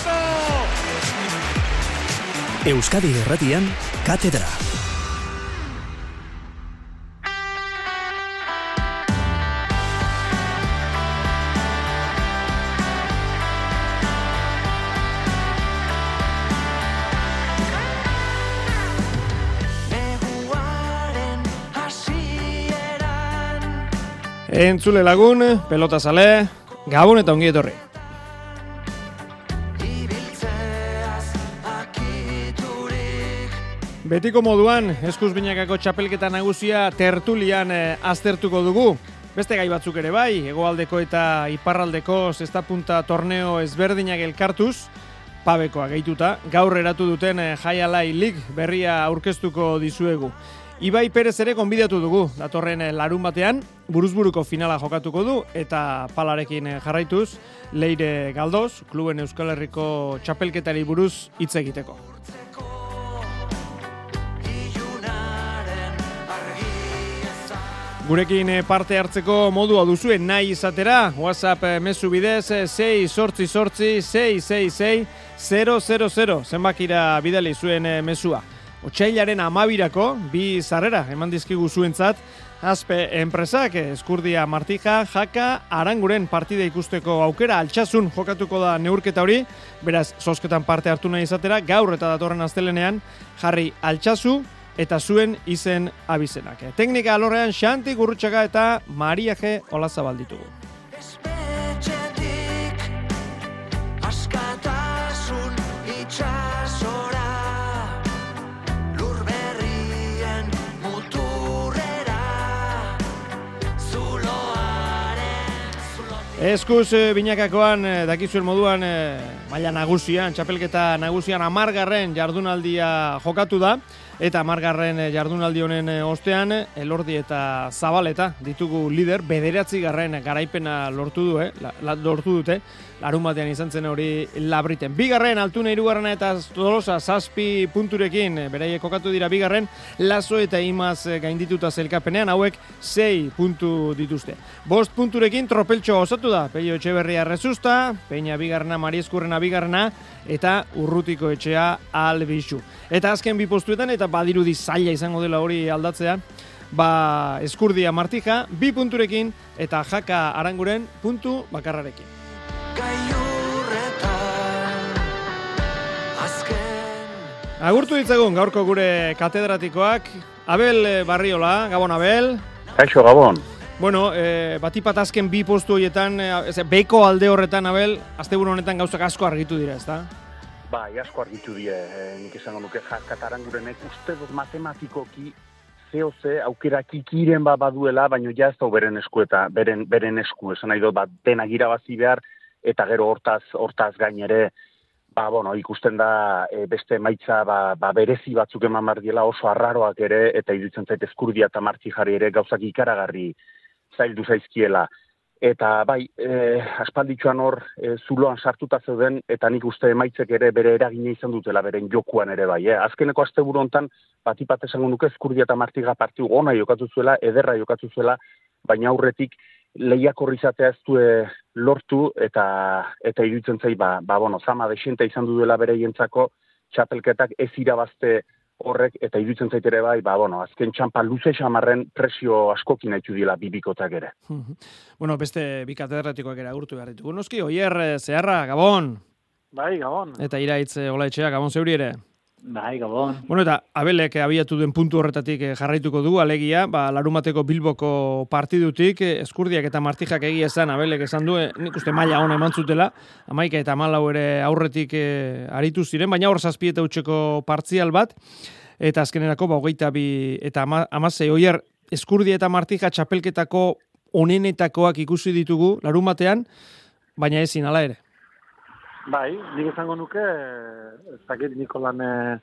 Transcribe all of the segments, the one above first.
Euskadi Irratian, Katedra. Entzule lagun, pelota zale, gabon eta ongi etorri. Betiko moduan, eskuz binakako txapelketa nagusia tertulian aztertuko dugu. Beste gai batzuk ere bai, hegoaldeko eta iparraldeko zestapunta torneo ezberdinak elkartuz, pabekoa gehituta, gaur eratu duten Jai Alai League berria aurkeztuko dizuegu. Ibai Perez ere gonbidatu dugu, datorren larun batean, buruzburuko finala jokatuko du, eta palarekin jarraituz, Leire Galdoz, kluben Euskal Herriko txapelketari buruz hitz egiteko. Gurekin parte hartzeko modua duzue nahi izatera, WhatsApp mezu bidez 688-666-000, zenbakira bidali zuen mezua. Otsailaren 12-rako, 2 sarrera eman dizkigu zuentzat, Aspe enpresak, Eskurdia Martija, Jaka, Aranguren partida ikusteko aukera, Altsasun jokatuko da neurketa hori, beraz, zozketan parte hartu nahi izatera, gaur eta datorren astelenean, jarri Altsasu, eta zuen izen abizenak. Teknika alorrean Xanti Gurrutxaga eta Maria G. Olazabal ditugu. Eskuz binakakoan, dakizuen moduan, maila nagusian, txapelketa nagusian 10. jardunaldia jokatu da, eta 10. jardunaldi honen ostean, Elordi eta Zabaleta ditugu lider, 9. garaipena lortu dute, larun batean izan zen hori Labriten. 2. Altuna 3. eta Tolosa 7 punturekin, beraiek kokatu dira 2. Lazo eta Imaz gaindituta zelkapenean, hauek 6 puntu dituzte. 5 punturekin Tropeltxo osatu da, Pello Etxeberria Rezusta, Peña 2. Marieskurrena 2. eta Urrutiko Etxea Albixu. Eta azken 2 postuetan, eta badirudi zaila izango dela hori aldatzea, Eskurdia Martija 2 punturekin eta Jaka Aranguren puntu bakarrarekin. Agurtu ditzagun gaurko gure katedratikoak, Abel Barriola, Gabon Abel. Kaixo, Gabon. Bueno, batipat azken 2 postu horietan, beko alde horretan, Abel, asteburu honetan gauzak asko argitu dira, ezta? Bai, asko argitu dira, nik esango nuke Jaka Arangurenek uste dut matematikoki ze aukerak ikiren baduela, baina ja ez da beren esku eta beren esku, esan nahi dut, denak irabazi behar, eta gero hortaz gain ere, ikusten da beste emaitza berezi batzuk eman mardiela oso arraroak ere, eta iruditzen zait Eskurdia eta Martijari ere gauzak ikaragarri zaildu zaizkiela. Eta bai, aspalditxoan hor zuloan sartuta zeuden, eta nik uste emaitzek ere bere eragina izan dutela, beren jokuan ere bai. Azkeneko asteburu hontan, batipat esango nuke Eskurdia eta Martija partiu ona jokatu zuela, ederra jokatu zuela, baina aurretik lehiakor izatea ez du lortu, eta iruditzen zai, zama desienta izan duela bereientzako txapelketak ez irabazte horrek, eta iruditzen zait ere bai, azken txampa luze xamarren presio askokin haitu dira bibikotak ere. Bueno, beste bi katedratikoak ere agurtu behar ditugu. Noski, Oier Zeharra, Gabon. Bai, Gabon. Eta Iraitz Olaetxea, Gabon zeuri ere. Bai, Gabon. Bueno, eta Abelek abiatu duen puntu horretatik jarraituko du, alegia, larumateko Bilboko partidutik, Eskurdiak eta Martijak egia esan, Abelek esan du, nik uste maila ona eman zutela, 11 eta 14 ere aurretik aritu ziren, baina hor 7 eta hutseko partzial bat, eta azkenerako 22 eta 16 Oier Eskurdia eta Martija txapelketako onenetakoak ikusi ditugu larumatean, baina ezin hala ere. Bai, nik esango nuke, ez dakit Nikolan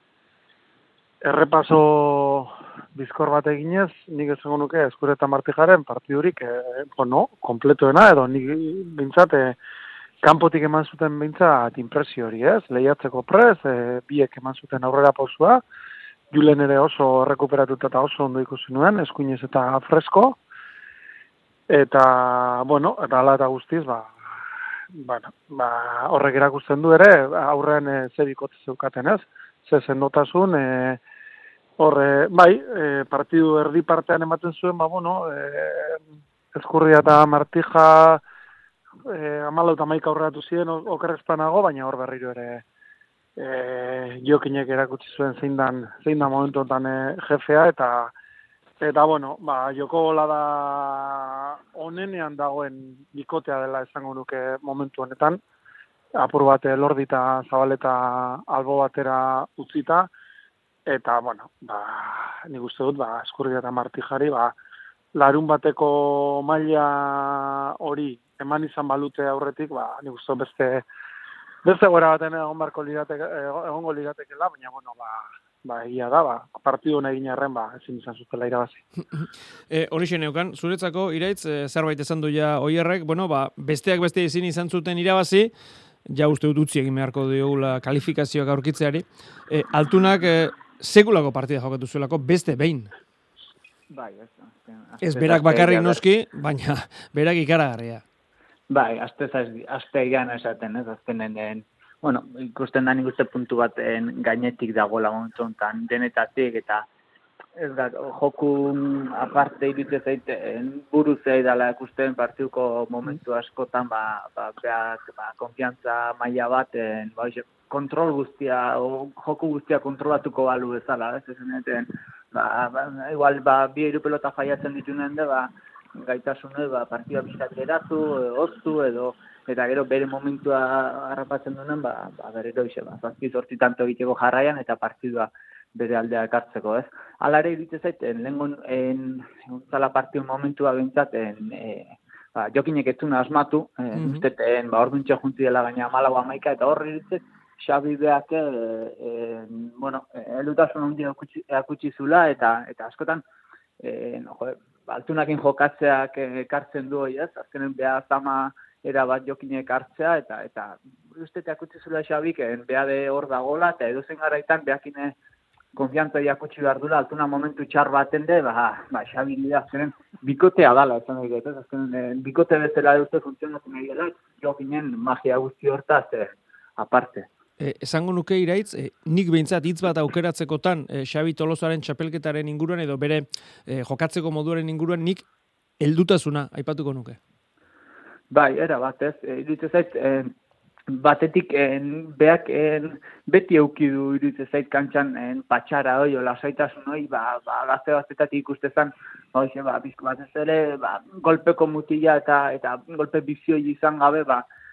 errepaso bizkor bat eginez, nik esango nuke Eskurdia eta Martijaren partidurik, kompletoena, edo nik bintzat, kanpotik eman zuten bintzat impresio hori, ez? Lehiatzeko prez, biek eman zuten aurrera pausua, Julen ere oso rekuperatuta eta oso ondo ikusi nuen, eskuinez eta fresko, eta, eta ala eta guztiz, horrek erakusten du ere, aurrean ze bikote zeukaten ez, ze sendotasun, partidu erdi partean ematen zuen, Ezkurria eta Martija 14 aurreratu ziren okerrezpanago, baina hor berriro ere Jokinek erakutsi zuen zein da momentu honetan jefea, eta joko bola da onenean dagoen bikotea dela esango nuke momentu honetan, apur bat Lordi eta Zabaleta albo batera utzita, eta nik uste dut Ezkurria eta Martijari larun bateko maila hori eman izan balute aurretik, nik uste beste gora baten egongo liratekela, baina egia da, partidu hona egin arren, ezin izan zutela irabazi. Horixe neukan, zuretzako, Iraitz, zerbait esan du ja Oierrek, besteak beste ezin izan zuten irabazi, ja uste dut utzi egin beharko diogula kalifikazioak aurkitzeari, Altunak sekulako partida jokatu zuelako, beste behin. Bai, ez berak bakarrik noski, baina berak ikaragarria. Bai, aste egan esaten, ez, azkenen, ikusten da nik uste puntu baten gainetik dagoela momentu honetan, denetatik, eta ez da, joku aparte iritze zaiten buruzei dela ikusten partiduko momentu askotan, konfiantza maila baten, kontrol guztia, joku guztia kontrolatuko balu bezala, ez zeneten, igual, bi hiru pelota faiatzen ditunen de, gaitasune, partida bizkat geratu, oztu, eta gero bere momentua harrapatzen duen, berero ize, zazpi tanto egiteko jarraian, eta partidua bere aldea ekartzeko, ez? Hala ere iritze zaiten, lehen zala partidu momentua bentsaten, Jokinek ez zuna asmatu, usteten, orduntxe junti dela gaina 14-11, eta horri iritze, Xabi beak, elutasun handia akutsi zula, eta askotan, Altunakin jokatzeak ekartzen du hori, ez? Azkenen beha zama erabat Jokinek hartzea, eta usteteak akutsi zula Xabik, beha de hor dagola, eta edozen garaitan behakine konfiantza jakutsi behar dula, Altuna momentu txar baten de, Xabi nire azkenen bikotea dala, ez da, azkenen bikote bezala uste funtzionatzen nahi dela, Jokinen magia guzti hortaz, aparte. Esango nuke Iraitz, nik behintzat hitz bat aukeratzekotan Xabi Tolosaren txapelketaren inguruan edo bere jokatzeko moduaren inguruan nik heldutasuna aipatuko nuke. Bai, era bat ez, iritze zait, batetik beak beti euki du iritze zait kantxan patxara hoi, lasaitasun hoi, gazte batetatik ikustezan, bizko bat ez ere, golpeko mutila eta golpe bizioi izan gabe,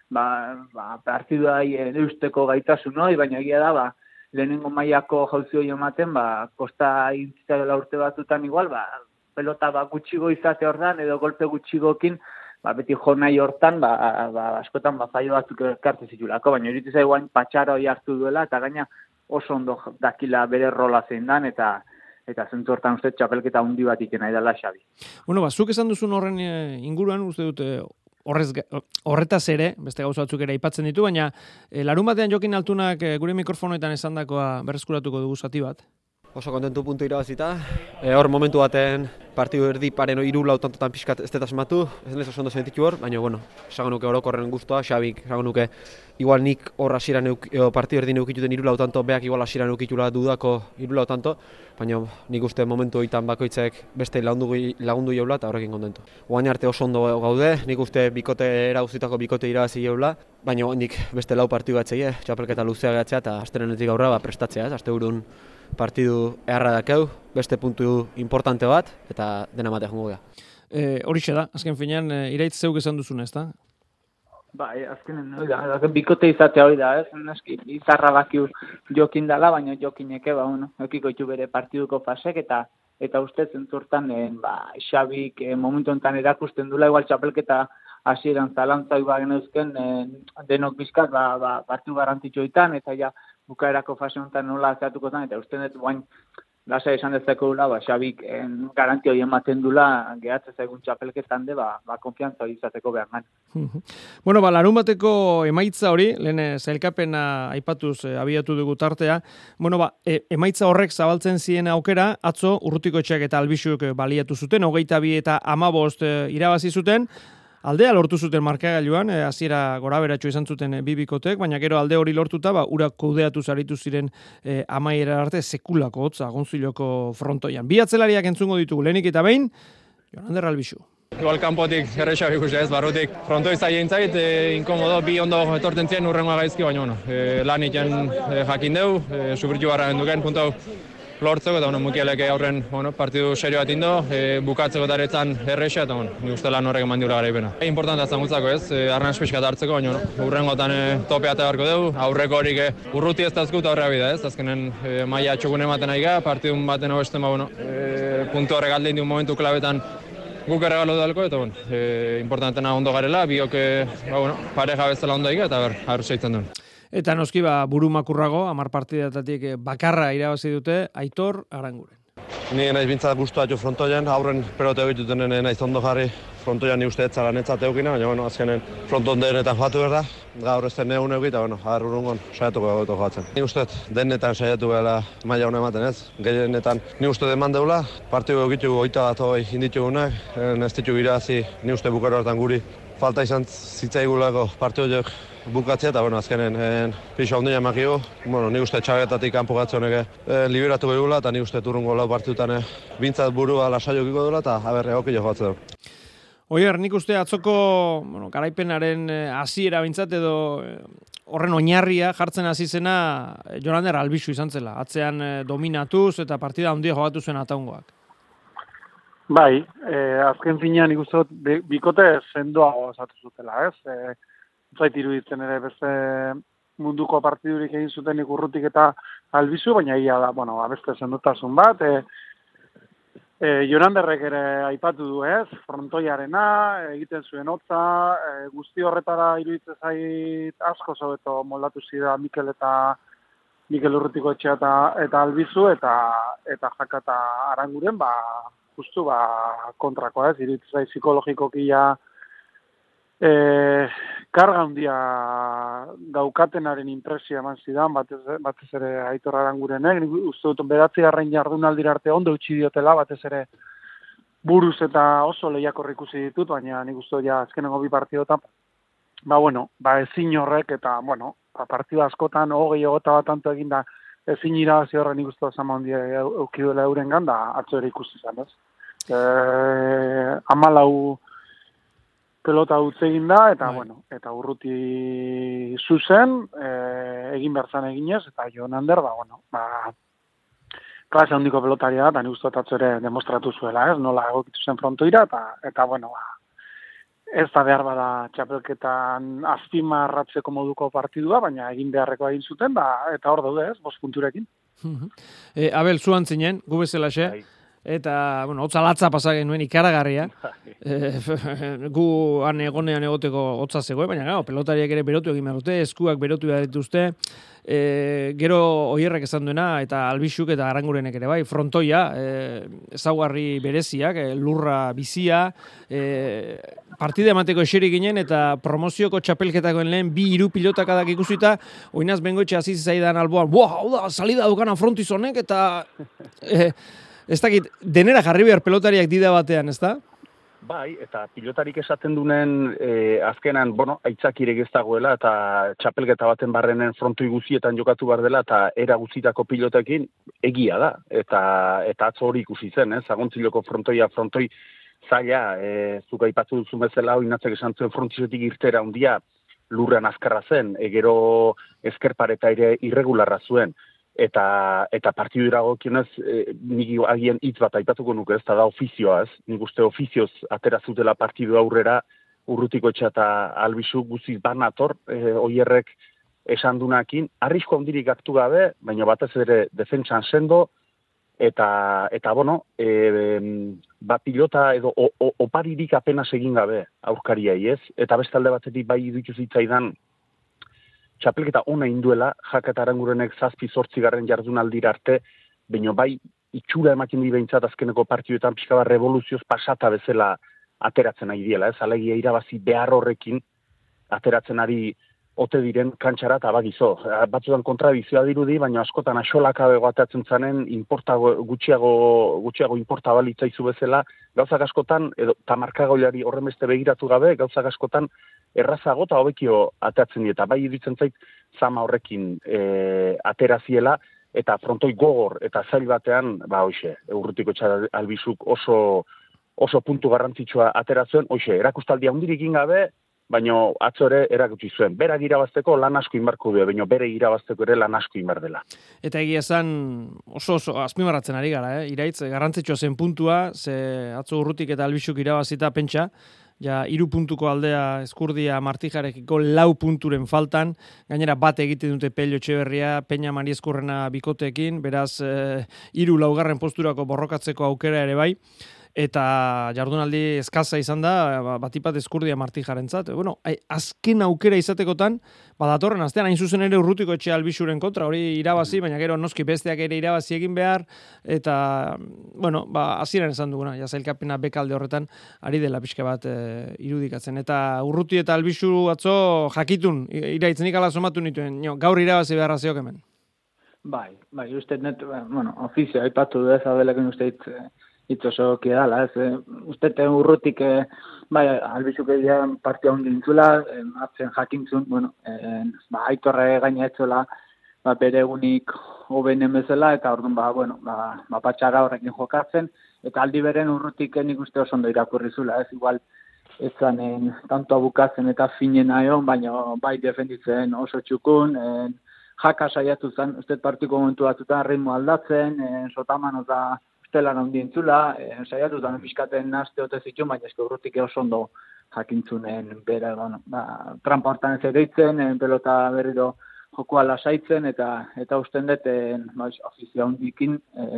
partidua eusteko gaitasun hori, baina egia da, lehenengo mailako jauzi hori ematen, kosta intzitzaiola urte batzutan igual, pelota gutxigo izate hortan, edo golpe gutxigokin, beti jo nahi hortan, askotan faio batzuk ekartzen zitulako, baina iritza iguain patxara hori hartu duela, eta gaina oso ondo dakila bere rola zein dan, eta zentzu hortan uste txapelketa handi bat ikena edala Xabi. Zuk esan duzun horren inguruan, uste dut, horretaz ere, beste gauza batzuk ere aipatzen ditu, baina larun batean Jokin Altunak gure mikrofonoetan esandakoa berreskuratuko dugu zati bat. Oso kontentu puntu irabazita. Hor momentu baten partidu erdi paren 3-4 tantotan pixkat ez dut asmatu, ez nez oso ondo sentitu hor, baina esango nuke orokorren guztua, Xabik, esango nuke, igual nik hor hasieran partidu erdi neukituten 3-4 tanto, beak igual hasieran neukitula dudako 3-4 tanto, baina nik uste momentu hoitan bakoitzek beste lagundu jaula eta horrekin kontentu. Oain arte oso ondo gaude, nik uste guztitako bikote irabazi jaula, baina nik beste 4 partidu batzei, txapelketa luzea gatzea eta asterenetik aurra prestatzea, asteburun partidu eharra dakeu, beste puntu importante bat, eta dena matea jongo gea. Horixe da, azken finean, Iraitz zeuk esan duzun, ez da? Bai, azkenen, bikote izatea hori da, ez? Izarra bakiu Jokin dala, baina Jokineke, ekiko itu bere partiduko fasek, eta uste zentzortan, Xabik momentu enten erakusten dula, igual txapelketa hasieran zalantzai genuzken, denok bizkat, partidu garrantzitsuetan, eta ja, bukaerako fase honetan nola zeatuko zen, eta uste dut guain lasa esan dezako dula, Xabik garanti hori ematen dula, gehatzez egun txapelketan de, konfiantza hori izateko behar man. Larun bateko emaitza hori, lehen zailkapena aipatuz abiatu dugu tartea, emaitza horrek zabaltzen ziren aukera, atzo Urrutikoetxeak eta Albixuk baliatu zuten, 22 eta 15 irabazi zuten, Aldea lortu zuten markagailuan, hasiera goraberatxo izan zuten bi bikotek, baina gero alde hori lortuta, urak kudeatu zaritu ziren amaiera arte sekulako hotza Gonziloko frontoian. Bi atzelariak entzungo ditugu, lehenik eta behin, Jonander Albixu. Igual kanpotik erresak ikusi ez, barrutik frontoi zaien zait, inkomodo, bi ondo etorten zien urrengoa gaizki, baina lan iten jakin deu, sufritu barra genduken, puntu lortzeko, eta mukielek aurren partidu serio bat indo, bukatzeko daretzan erresa, eta nik uste lan horrek eman diula garaipena. Importanta zangutzako ez, arnaz pixkat hartzeko, baina urrengotan topea eta beharko dugu, aurreko horik urruti ez dazkut aurrea bida ez, azkenen maila txokun ematen ari ga, partidun baten hobesten, puntu horrek aldein diun momentu klabetan guk erregalo dalko, eta importantena ondo garela, biok pareja bezala ondo egitea, eta harru seitzen duen. Eta noski buru makurrago, 10 partidatatik bakarra irabazi dute Aitor Aranguren. Ni naiz bintzat guztua jo frontoian, aurren pelote egituten naiz ondo jarri frontoian ni uste etzala netzat eukina, baina azkenen fronton denetan joatu behar da, gaur ez den neun eukita, urrungon saiatuko goto joatzen. Ni uste denetan saiatu behar maila hona ematen ez, gehienetan ni uste deman deula, partidu egitu 21 inditugunak, ez ditu irazi ni uste bukaro hartan guri falta izan zitzaigulako partidu bukatzea, eta azkenen pixo handia emakigu. Ni uste txabetatik kanpo gatzonek liberatu behula, eta ni uste turrungo lau partidutan bintzat burua lasaiokiko dula, eta egokio joatze du. Oier, nik uste atzoko garaipenaren hasiera bintzat edo horren oinarria jartzen hasi zena Jonander Albixu izan zela. Atzean dominatuz eta partida handia jogatu zuen ataungoak. Bai, azken finean ikusten bikote sendoago osatu zutela, ez? Zait iruditzen ere beste munduko partidurik egin zuten Urrutik eta Albizu, baina ia da, beste sendotasun bat. Jonanderrek ere aipatu du, ez? Frontoiarena, egiten zuen hotza, guzti horretara iruditzen zait asko zobeto moldatu zida Mikel Urrutiko etxea eta Albizu, eta Jaka eta Aranguren, justu kontrakoa, ez? Iruditzen zait psikologikoki karga handia daukatenaren impresioa eman zidan, batez ere Aitor Arangurenek, nik uste dut 9. jardunaldira arte ondo utzi diotela, batez ere buruz eta oso lehiakorrik ikusi ditut, baina nik uste dut azkenengo bi partidotan, ezin horrek, eta, partidu askotan, 20-21 tanto eginda, ezin irabazi horren nik uste dut zama handia eukiduela eurengan, da atzo ere ikusi zan, ez? 14 pelota utze egin da, eta, eta Urruti zuzen, egin berzan eginez, eta Jonander, klase handiko pelotaria da, eta nik uste atzo ere demostratu zuela, ez? Nola egokitu zen frontoira, eta ez da behar bada txapelketan azpimarratzeko moduko partidua, baina egin beharreko egin zuten, eta hor daude, ez? 5 punturekin. Abel, zuan zinen, gu bezalaxe, eta, hotza latza pasa genuen ikaragarria. Gu han egonean egoteko hotza zegoen, baina pelotariak ere berotu egin behar dute, eskuak berotu behar dituzte, gero Oierrek esan duena, eta Albixuk eta Arangurenek ere bai, frontoia, ezaugarri bereziak, lurra bizia, partida emateko eserik ginen, eta promozioko txapelketakoen lehen 2-3 pilotakadak ikusita, oinaz bengoetxe hasi zaidan alboan, hau da, salida dukana frontizonek, eta ez dakit, denera jarri behar pelotariak dida batean, ez da? Bai, eta pilotarik esaten dunen azkenan, aitzakirek ez dagoela, eta txapelketa baten barrenen frontoi guzietan jokatu behar dela, eta era guzitako pilotekin egia da. Eta atzo hori ikusi zen, Zagontziloko frontoi zaila, zuk aipatu duzu bezala, Inatzek esan zuen frontizetik irtera handia lurrean azkarra zen, gero ezkerpareta ere irregularra zuen. Eta partidu iragokionez, nik agien hitz bat aipatuko nuke, ez da ofizioa, ez? Nik uste ofizioz atera zutela partidu aurrera Urrutiko etxea eta Albizu guziz banator, Oierrek esan dunakin, arrisko handirik hartu gabe, baina batez ere defentsan sendo, eta pilota edo oparirik apenas egin gabe aurkariai, ez? Eta bestalde batetik bai iruditu zitzaidan txapelketa ona induela, Jaka eta Arangurenek 7-8 jardunaldira arte, baina bai itxura ematen di behintzat azkeneko partiduetan pixka bat revoluzioz pasata bezala ateratzen ari diela, ez? Alegia irabazi behar horrekin ateratzen ari ote diren kantxara eta bagizo. Batzutan kontradizioa dirudi, baina askotan axolakabe atatzen zanen gutxiago inporta balitzaizu bezala, gauzak askotan, edo tamarkagoilari horren beste begiratu gabe, gauzak askotan errazago eta hobekio atatzen dieta. Bai iruditzen zait, zama horrekin ateraziela, eta frontoi gogor eta zail batean, Urrutiko Albizuk oso puntu garrantzitsua ateratzen, erakustaldia hundirik gabe, baina atzo ere erakutsi zuen. Berak irabazteko lan asko inbarko du, baina bere irabazteko ere lan asko inbar dela. Eta egia esan oso azpimarratzen ari gara, Iraitz, garrantzitsua zen puntua, ze atzo Urrutik eta Albizuk irabazita pentsa, ja 3 puntuko aldea Eskurdia Martijarekiko 4 punturen faltan, gainera bat egiten dute Pello Etxeberria, Peña Mari Eskurrena bikoteekin, beraz 3. posturako borrokatzeko aukera ere bai. Eta jardunaldi eskaza izan da, batipat Eskurdia Martijarentzat. Bueno, azken aukera izatekotan, datorren astean hain zuzen ere Urrutiko Etxe Albizuren kontra, hori irabazi, baina gero noski besteak ere irabazi egin behar, eta, bueno, hasieran esan duguna, sailkapena bekalde horretan, ari dela pixka bat irudikatzen. Eta Urruti eta Albizu atzo jakitun, iraitzen ala somatu nituen, gaur irabazi beharra zeok hemen. Bai, uste net, ofizio, aipatu du ez, abelekin uste itzoso kiedala, ez, uste Urrutik, Albizuk egian partia hundi dintzula, atzen jakintzun, Aitorre gaina etzola, bere egunik hobenen bezala, eta orduan, patxara horrekin jokatzen, eta aldi beren Urrutik nik uste oso ondo irakurri zula, ez, igual, ez zanen tanto bukatzen eta finen aion, baina bai defenditzen oso txukun, jaka saiatu zen, uste partiko momentu batzutan ritmo aldatzen, sotaman oza, telan handientzula, saiatutan pixkaten naste ote zituen, baina eske Urrutik oso ondo jakintzunen bera, trampa hortan ez ereitzen, pelota berriro jokoa lasaitzen, eta usten dut, ofizio handikin,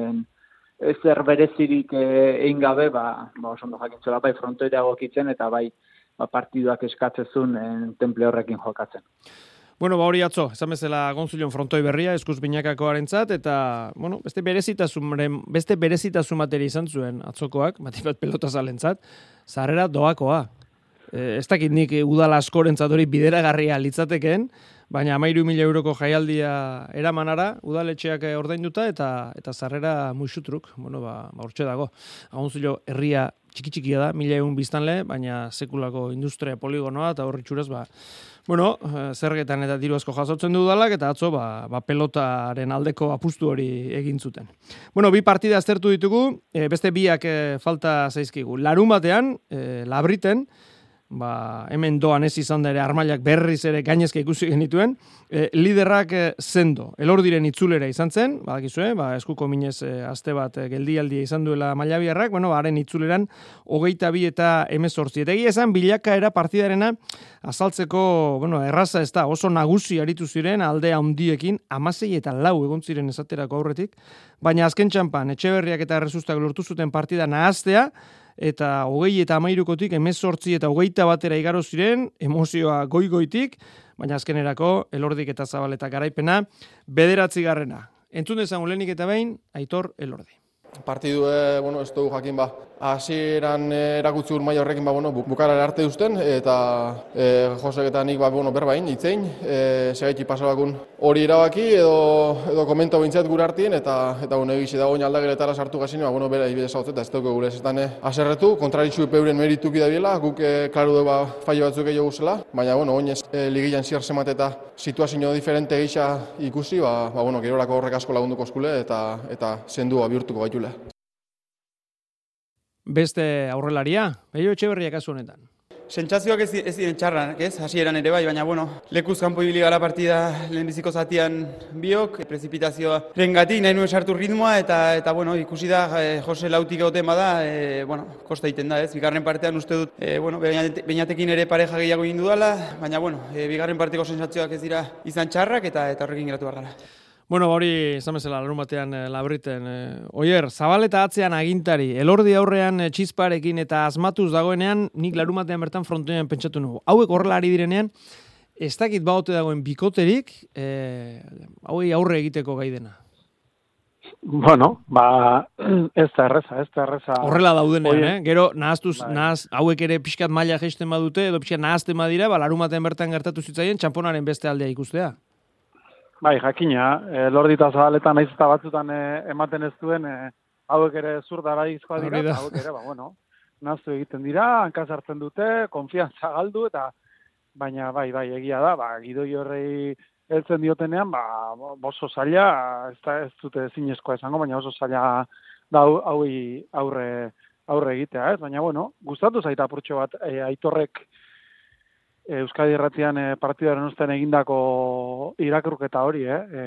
ezer berezirik egin gabe, oso ondo jakintzuela, bai frontoira gokitzen, eta bai partiduak eskatzezun temple horrekin jokatzen. Bueno, hori atzo, esan bezala Gonzulon frontoi berria, eskuz binakakoarentzat, eta, beste berezitasun bateri izan zuen atzokoak, bat pelota zalentzat, zarrera doakoa. Ez dakit nik udala askorentzat hori bideragarria litzateken, baina 13.000 euroko jaialdia eramanara, udaletxeak ordainduta, eta zarrera muixutruk, hortxe dago. Gonzulo herria txiki-txikia da, 1.000 biztanle, baina sekulako industria poligonoa, eta horri txuraz, zergetan eta diru asko jasotzen du udalak, eta atzo, pelotaren aldeko apustu hori egin zuten. 2 partida aztertu ditugu, beste biak falta zaizkigu. Larunbatean, Labriten, hemen doan ez izan da ere armailak berriz ere gainezka ikusi genituen, liderrak Sendo, Elordiren itzulera izan zen, badakizue, eskuko minez aste bat geldialdia izan duela Mailabiarrak, haren itzuleran 22 eta 18. Eta egia esan bilakaera partidarena azaltzeko, erraza ez da, oso nagusi aritu ziren alde handiekin 16 eta 4 egon ziren esaterako aurretik, baina azken txanpan Etxeberriak eta Errezustak lortu zuten partida nahaztea, eta 20 eta 13kotik 18 eta 21 igaro ziren, emozioa goi-goitik, baina azkenerako Elordik eta Zabaleta garaipena 9. Entzun dezagun lehenik eta behin, Aitor Elordi. Partidu, ez dugu jakin hasieran erakutsi maila horrekin bukarara arte duzten, eta Josek eta nik berbain, itzein, segaiti pasabakun hori erabaki edo komento bintzat gure artien, eta egisi dago aldageletara sartu gazin, bera ibide zautzen, eta ez dugu gure zetan aserretu, kontraritxu peuren merituki da biela, guk klaru dugu faio batzuk egin guzela, baina oinez ligian zier zemat eta situazio diferente gisa ikusi, gerorako horrek asko lagunduko eskule, eta zendua bihurtuko gaitule. Beste aurrelaria, Pello Etxeberria kasu honetan. Sentsazioak ez diren txarrak, hasieran ere bai, baina lekuz kanpo ibili gara partida lehenbiziko zatian biok, prezipitazioa rengatik nahi nuen sartu ritmoa, eta ikusi da Jose Lautik egoten bada, kosta egiten da, bigarren partean uste dut, Beñatekin ere pareja gehiago egin dudala, baina bigarren parteko sentsazioak ez dira izan txarrak, eta horrekin geratu behar gara. Hori, esan bezala, larunbatean Labriten. Oier, Zabaleta atzean agintari, Elordi aurrean txizparekin eta asmatuz dagoenean, nik larunbatean bertan frontoian pentsatu nugu. Hauek horrela ari direnean, ez dakit baote dagoen bikoterik, hauei aurre egiteko gai dena. Bueno, ez da erreza. Horrela daudenean, Oie, Gero, hauek ere pixkat maila geisten badute, edo pixkat nahazten badira, larumaten bertan gertatu zitzaien, txamponaren beste aldea ikustea. Bai, jakina, Lordita Zabaletan naiz eta batzutan ematen ez duen, hauek ere zurdaraizkoa dira, eta hauek ere, nahaztu egiten dira, hankaz hartzen dute, konfiantza galdu, eta baina bai, egia da, Gidoi horrei heltzen diotenean, oso zaila, ez dute zinezkoa esango, baina oso zaila da hauei aurre egitea, ez? Baina, gustatu zaita apurtxo bat, Aitorrek Euskadi Irratian partidaren ostean egindako irakurketa hori,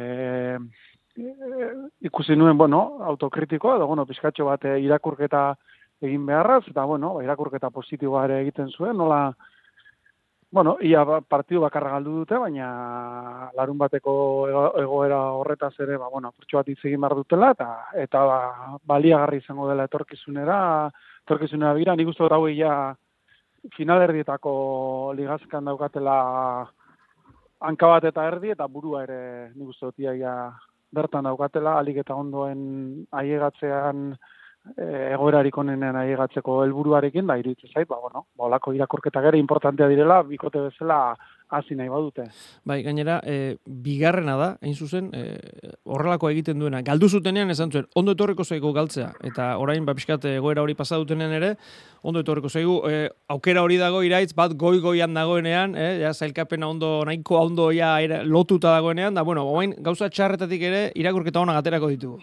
ikusi nuen, autokritikoa, edo, pizkatxo bat irakurketa egin beharraz, eta, irakurketa positiboa ere egiten zuen, nola, ia partidu bakarra galdu dute, baina larun bateko egoera horretaz ere, apurtxo bat hitz egin behar dutela, eta baliagarri izango dela etorkizunera bira, nik uste dut hau finalerdietako ligazkan daukatela hanka bat eta erdi, eta burua ere nik uste dut ia bertan daukatela, alik eta ondoen aiegatzean, egoerarik onenen aiegatzeko helburuarekin, da iruditzen zait, olako irakurketa gero importantea direla, bikote bezala hasi nahi badute. Bai, gainera, bigarrena da, hain zuzen, horrelako egiten duena. Galdu zutenean esan zuen, ondo etorriko zaigu galtzea, eta orain, pixkat egoera hori pasa dutenean ere, ondo etorriko zaigu, aukera hori dago iraitz, bat goi-goian dagoenean, zailkapena nahiko ondo lotuta dagoenean, da, oain gauza txarretatik ere, irakurketa honak aterako ditugu.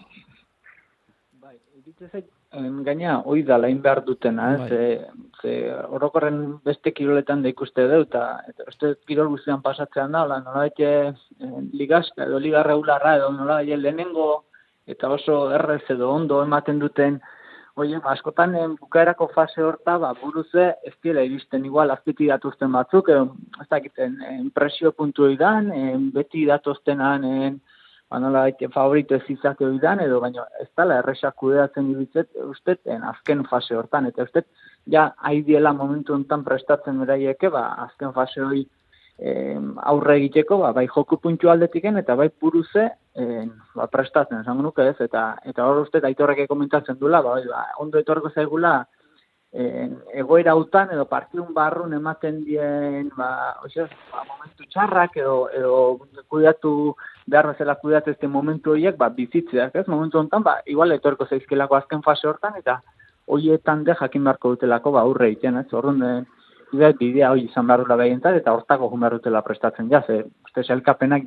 Gaina, hoi da, lain behar dutena, orokorren beste kiroletan da ikuste dut, eta uste kirol guztian pasatzean da, nola ligazka edo liga regularra edo nola lehenengo eta oso errez edo ondo ematen duten, askotan bukaerako fase horta, buruze ez dira iristen igual azpiti datuzten batzuk, ez dakiten, presio puntu edan, beti datuztenan, nola favorito ez izate oidan, edo baina ez dala erresak kudeatzen dibitzet, ustetzen azken fase hortan, eta ustet, haidiela momentu honetan prestatzen beraieke, azken fase hori aurre egiteko, bai joku puntu aldetiken, eta bai buruze prestatzen, esango nuke ez, eta hor ustet, Aitorrek komentatzen duela, ondo etorreko zaigula, egoera hautan edo partidun barrun ematen dien momentu txarrak edo kudeatu behar bezala kudeatu ezte momentu horiek bizitzeak, ez? Momentu honetan, igual etorko zaizkelako azken fase hortan, eta horietan jakin beharko dutelako aurre egiten, ez? Orduan, bidea hori izan behar dula behientzat, eta hortako jun behar dutela prestatzen ze uste selkapenak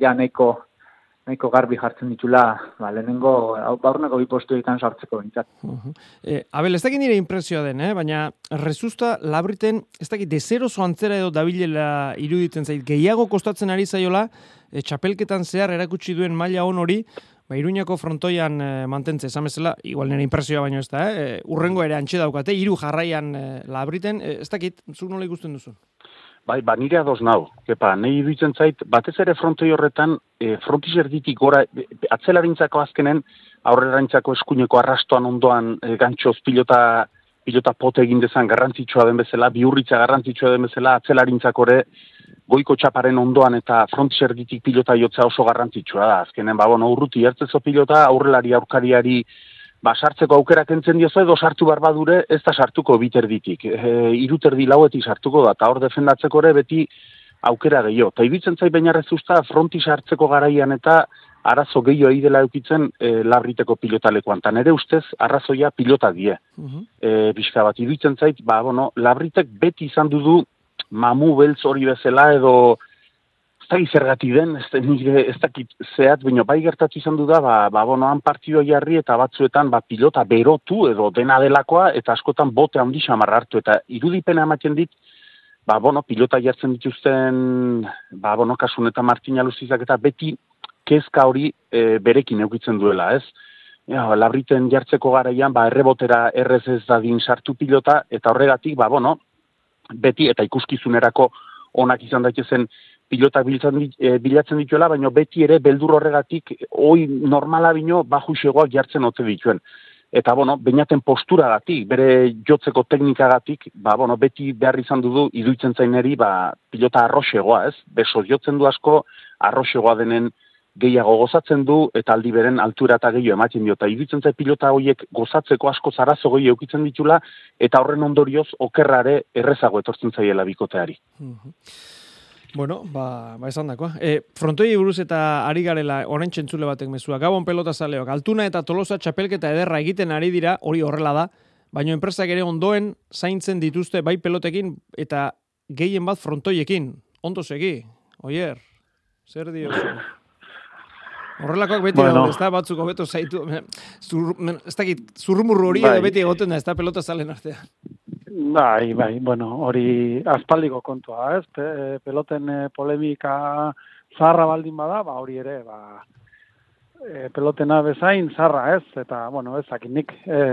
nahiko garbi jartzen ditula, lehenengo baurnako bipostu egiten sartzeko bintzat. Abel, ez dakit nire impresioa den, baina Rezusta Labriten, ez dakit, dezerozo antzera edo dabilela iruditzen zait, gehiago kostatzen ari zaiola, txapelketan zehar erakutsi duen maila hon hori, Iruñako frontoian mantentze, esan bezala, igual nire impresioa baino ez da, urrengo ere antxe daukate, 3 jarraian Labriten, ez dakit, zu nola ikusten duzu? Bai, nire adoz nau. Nahi iruditzen zait, batez ere frontoi horretan, frontiz erditik gora, atzelarintzako azkenen, aurrerarintzako eskuineko arrastoan ondoan gantxoz pilota pote egin dezan garrantzitsua den bezala, bihurritza garrantzitsua den bezala, atzelarintzako ere, goiko txaparen ondoan eta frontiz erditik pilota jotzea oso garrantzitsua da. Azkenen, urruti hartzezo pilota, aurrelari aurkariari, sartzeko aukerak entzen diozu edo sartu barbadure ez da sartuko biterditik. Iruterdi lauetik sartuko da, eta hor defendatzeko ere beti aukera gehiago. Ta iruditzen zait baina Rezusta fronti sartzeko garaian eta arazo gehiago dela eukitzen Labriteko pilotalekuan. Ta nere ustez arrazoia pilota die. Bizka bat iruditzen zait, Labritek beti izan du mamu beltz hori bezala edo ez dakit zergatik den, ez dakit zehat, baina bai gertatu izan du da, han partidua jarri eta batzuetan pilota berotu edo dena delakoa eta askotan bote handi xamar hartu eta irudipena ematen dit, pilota jartzen dituzten, kasun eta Martina Luzizak eta beti kezka hori berekin eukitzen duela, ez? Labriten jartzeko garaian, errebotera errez ez dadin sartu pilota eta horregatik, beti eta ikuskizunerako onak izan daitezen pilota bilatzen dituela, baina beti ere beldur horregatik hoi normala bino bajuxegoak jartzen ote dituen. Eta, bainaten posturagatik, bere jotzeko teknikagatik, beti behar izan du iduitzen zaineri, pilota arroxegoa, ez? Beso jotzen du asko, arroxegoa denen gehiago gozatzen du, eta aldi beren altura eta gehiago ematen dio. Eta iruditzen zait pilota horiek gozatzeko asko zarazo gehiago eukitzen ditula, eta horren ondorioz okerrare errezago etortzen zaiela bikoteari. Bueno, esan dakoa. Frontoi buruz eta ari garela orain txentzule batek mezua. Gabon pelota zaleok. Altuna eta Tolosa txapelketa ederra egiten ari dira, hori horrela da, baina enpresak ere ondoen zaintzen dituzte bai pelotekin eta gehien bat frontoiekin. Ondo segi, Oier, zer diozu? Horrelakoak beti daude, ez da, batzuk hobeto zaitu. Ez dakit, zurrumurru hori edo beti egoten da, ez da pelota zalen artean. Bai, bueno, hori aspaldiko kontua, ez? Peloten polemika zarra baldin bada, hori ere, pelotena bezain zarra, ez? Eta, bueno, ezakit nik,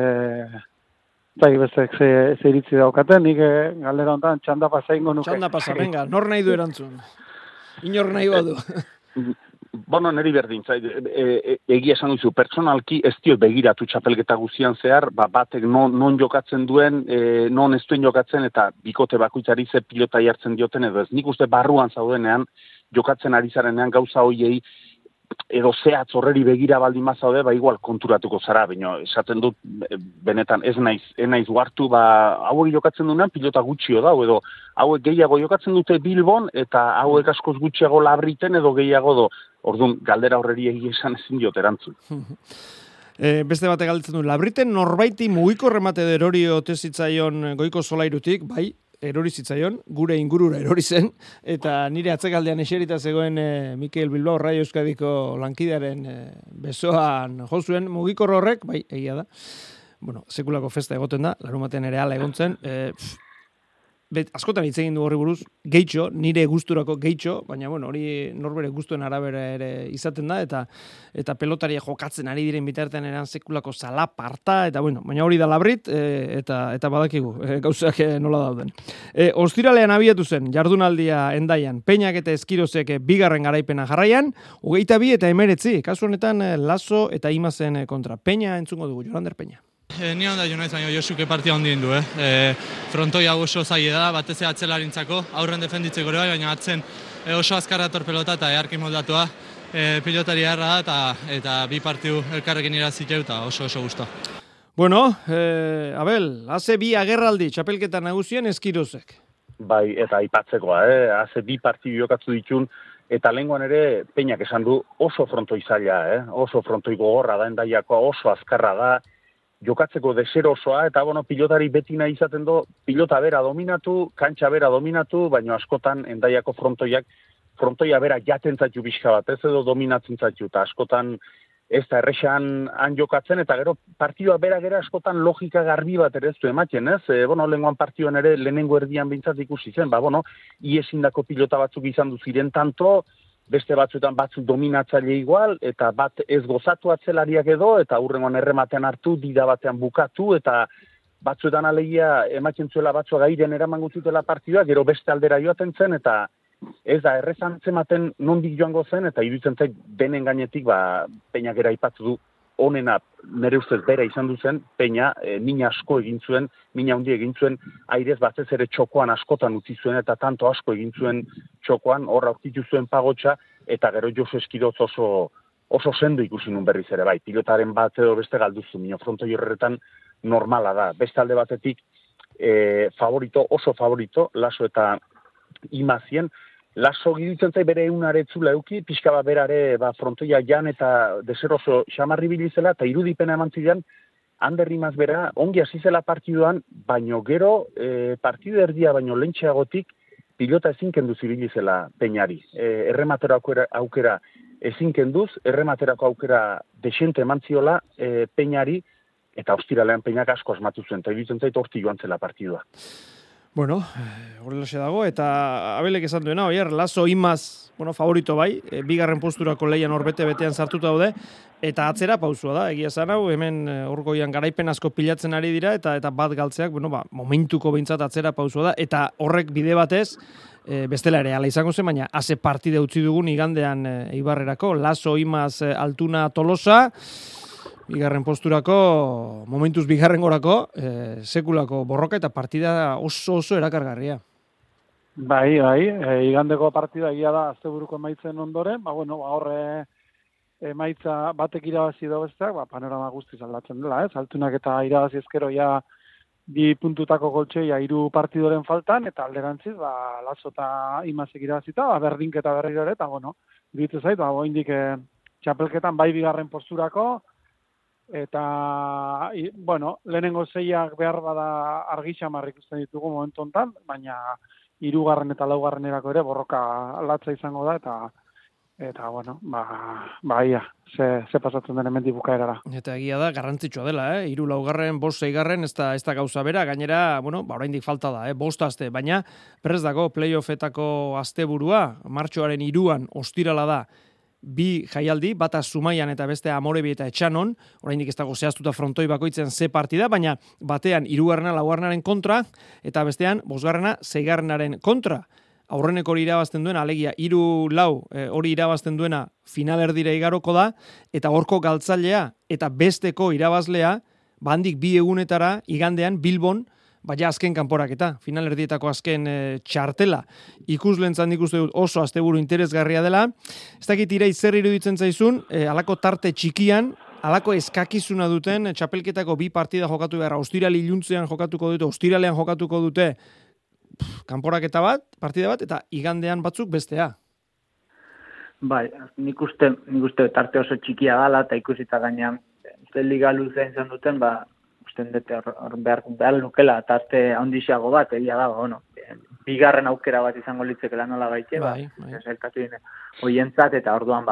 bestek ze iritzi daukaten, nik galdera honetan txanda pasa ingo nuke. Txanda pasa, venga, nor nahi du erantzun? Inor nahi badu. Bueno, neri berdin, egia esan duzu, personalki ez dio begiratu txapelketa guztian zehar, batek non jokatzen duen, non ez duen jokatzen, eta bikote bakoitzari ze pilota jartzen dioten edo ez. Nik uste barruan zaudenean, jokatzen ari zarenean gauza hoiei, edo zehatz horreri begira baldin mazaude, igual konturatuko zara, baina esaten dut, benetan ez naiz guartu, hauek jokatzen duenean pilota gutxio da, edo hauek gehiago jokatzen dute Bilbon, eta hauek askoz gutxiago Labriten, edo gehiago do, orduan galdera horreri egia esan ezin diot erantzun. Beste batek galdetzen du, Labriten norbaiti mugiko remate erori ote zitzaion goiko solairutik, bai, erori zitzaion, gure ingurura erori zen, eta nire atzekaldean eserita zegoen Mikel Bilbao Raio Euskadiko lankidearen besoan jozuen mugikor horrek, bai, egia da. Bueno, sekulako festa egoten da, larumaten ere ala egontzen, askotan hitz egin du horri buruz, gehitxo, nire gusturako gehitxo, baina bueno, hori norbere gustuen arabera ere izaten da, eta pelotaria jokatzen ari diren bitartean eran sekulako zalaparta, eta bueno, baina hori da Labrit, eta badakigu, gauzak nola dauden. Ostiralean abiatu zen, jardunaldia Hendaian, Peñak eta Eskirozek bigarren garaipena jarraian, 22 eta 19, kasu honetan Laso eta Imazen kontra. Peña entzungo dugu, Jolander Peña. Ni onda jo naiz, baina Josuke partia ondien du, Frontoia oso zaila da, batez atzelarintzako, aurren defenditzeko ere bai, baina atzen oso azkarra torpelota eta earki moldatua, pilotari harra da, eta bi partiu elkarrekin iraziteu eta oso gusto. Bueno, Abel, haze bi agerraldi, txapelketa nagusien Eskirozek. Bai, eta aipatzekoa, haze bi partiu jokatzu ditun, eta lehengoan ere Peñak esan du oso frontoi zaila, oso frontoi gogorra da, Hendaiakoa oso azkarra da, jokatzeko deserosoa, eta pilotari beti nahi izaten du, pilota bera dominatu, kantxa bera dominatu, baina askotan Hendaiako frontoia bera jaten zaitu pixka bat, ez edo dominatzen zaitu, eta askotan ez da errexan han jokatzen, eta gero partioa bera askotan logika garbi bat ere ez du ematen, ez? Lehengoan partioan ere lehenengo erdian bintzat ikusi zen, iesindako pilota batzuk izan du ziren tanto, beste batzuetan batzuk dominatzaile igual, eta bat ez gozatu atzelariak edo, eta hurrengoan errematean hartu, dida batean bukatu, eta batzuetan alegia ematen zuela batzua gairen eraman guztutela partidua, gero beste aldera joaten zen, eta ez da, errezan zematen nondik joango zen, eta iruditzen zait benen gainetik, Peñak eraipatu du, onena nire ustez bera izan duzen, Peña, mina asko egin zuen, mina handi egin zuen, airez batez ere txokoan askotan utzi zuen, eta tanto asko egin zuen txokoan, horra aurkitu zuen pagotxa, eta gero Josu Eskiroz oso sendo ikusi nun berriz ere, bai, pilotaren bat edo beste galduzu, minio frontoi horretan normala da. Beste alde batetik, oso favorito, Laso eta Imazien, Laso gidutzen zai bere egunaretzula euki, pixka bat berare frontoia jan eta deseroso xamarri bilizela, eta irudipena eman zidan, Ander Imaz bera, ongi hasi zela partiduan, baino gero, partidu erdia baino lentxeagotik, pilota ezin kenduz ibilizela Peñari. Errematerako aukera ezin kenduz, errematerako aukera desente eman ziola Peñari, eta ostiralean Peñak asko asmatu zuen, eta iruditzen zait horti joan zela partidua. Bueno, horrelaxe dago, eta Abelek esan duena, Oier, Laso Imaz, favorito bai, bigarren posturako leian betean sartuta daude, eta atzera pausua da, egia esan hau, hemen orgoian garaipen asko pilatzen ari dira, eta bat galtzeak, momentuko behintzat atzera pausua da, eta horrek bide batez, bestela ere ala izango zen, baina haze partide utzi dugun igandean Eibarrerako, Laso Imaz Altuna Tolosa, bigarren posturako, momentuz bigarren gorako, sekulako borroka eta partida oso erakargarria. Bai, igandeko partida egia da asteburuko emaitzen ondoren, horre emaitza batek irabazi edo besteak, panorama guztiz aldatzen dela, Altunak eta irabazi ezkero ja 2 puntutako goltxoia 3 partidoren faltan, eta alderantziz, Lazo eta Imazek irabazita, berdinketa berriro ere, eta iruditzen zait, oraindik txapelketan bai bigarren posturako, eta, lehenengo 6ak behar bada argi xamar ikusten ditugu momentu hontan, baina 3. eta 4. ere borroka latza izango da, eta ia, ze pasatzen den hemendik bukaerara. Eta egia da, garrantzitsua dela, 3, 4, 5, 6, ez da gauza bera, gainera, oraindik falta da, 5 aste, baina prest dago playoffetako asteburua, martxoaren 3an ostirala da, 2 jaialdi, bata Zumaian eta beste Amorebi eta Etxanon, oraindik ez dago zehaztuta frontoi bakoitzen ze partida, baina batean 3. 4. kontra, eta bestean 5. 6. kontra. Aurreneko hori irabazten duena, alegia 3-4 hori irabazten duena finalerdira igaroko da, eta horko galtzailea eta besteko irabazlea, handik 2 egunetara igandean Bilbon, baina azken kanporaketa, finalerdietako azken txartela. Ikuslentzan ikuste dut oso asteburu interesgarria dela. Ez dakit Irai zer iruditzen zaizun, alako tarte txikian, alako eskakizuna duten txapelketako 2 partida jokatu behar, ostirali iluntzean jokatuko dute, ostiralean jokatuko dute, kanporaketa bat, partida bat, eta igandean batzuk bestea. Bai, nik uste tarte oso txikia dala, eta ikusita gainean, liga luzea izan duten, usten dute hor behar lukela, tarte handixeago bat, egia dago, bigarren aukera bat izango litzekela nola gaitxe, zelkatu dine, hoientzat, eta orduan,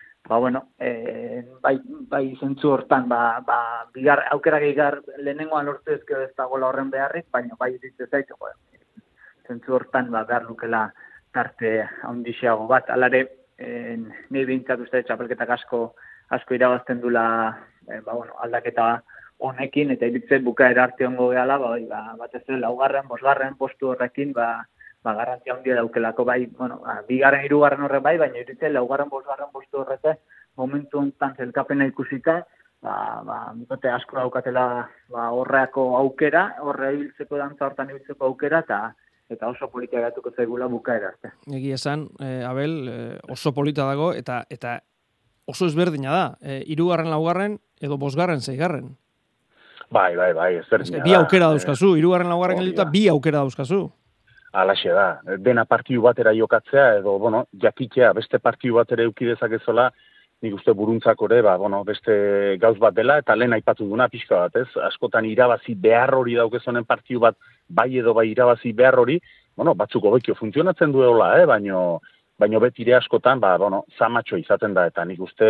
bai zentzu hortan, aukera gehiagar lehenengoan lortu ezkero ez dagoela horren beharrik, baina bai ditze zaitu, zentzu hortan behar lukela tarte handixeago bat. Alare, nahi behintzat uste txapelketak asko irabazten dula aldaketa honekin, eta iritzen bukaera arte hongo gehala, batez ere 4., 5. postu horrekin, garrantzia handia daukelako, 2., 3. horrek bai, baina iritzen 4., 5. postu horrete, momentu honetan zelkapena ikusita, mikote asko daukatela horreako aukera, horre ibiltzeko dantza hortan ibiltzeko aukera, eta oso polita gatuko zaigula bukaera arte. Egia esan, Abel, oso polita dago, eta oso ezberdina da. 3., 4. edo 5., 6. Bai, ezberdina da. 2 aukera dauzkazu, 3., 4. gelduta 2 aukera dauzkazu. Alaxe da, dena partidu batera jokatzea, edo, jakitea beste partidu batera eukidezakezola, nik uste buruntzak ere, beste gauz bat dela, eta lehen aipatu duna pixka bat, ez? Askotan irabazi behar hori daukezonen partidu bat, bai edo bai irabazi behar hori, batzuk hobekio funtzionatzen duela, baino betire askotan, zamatxo izaten da, eta nik uste,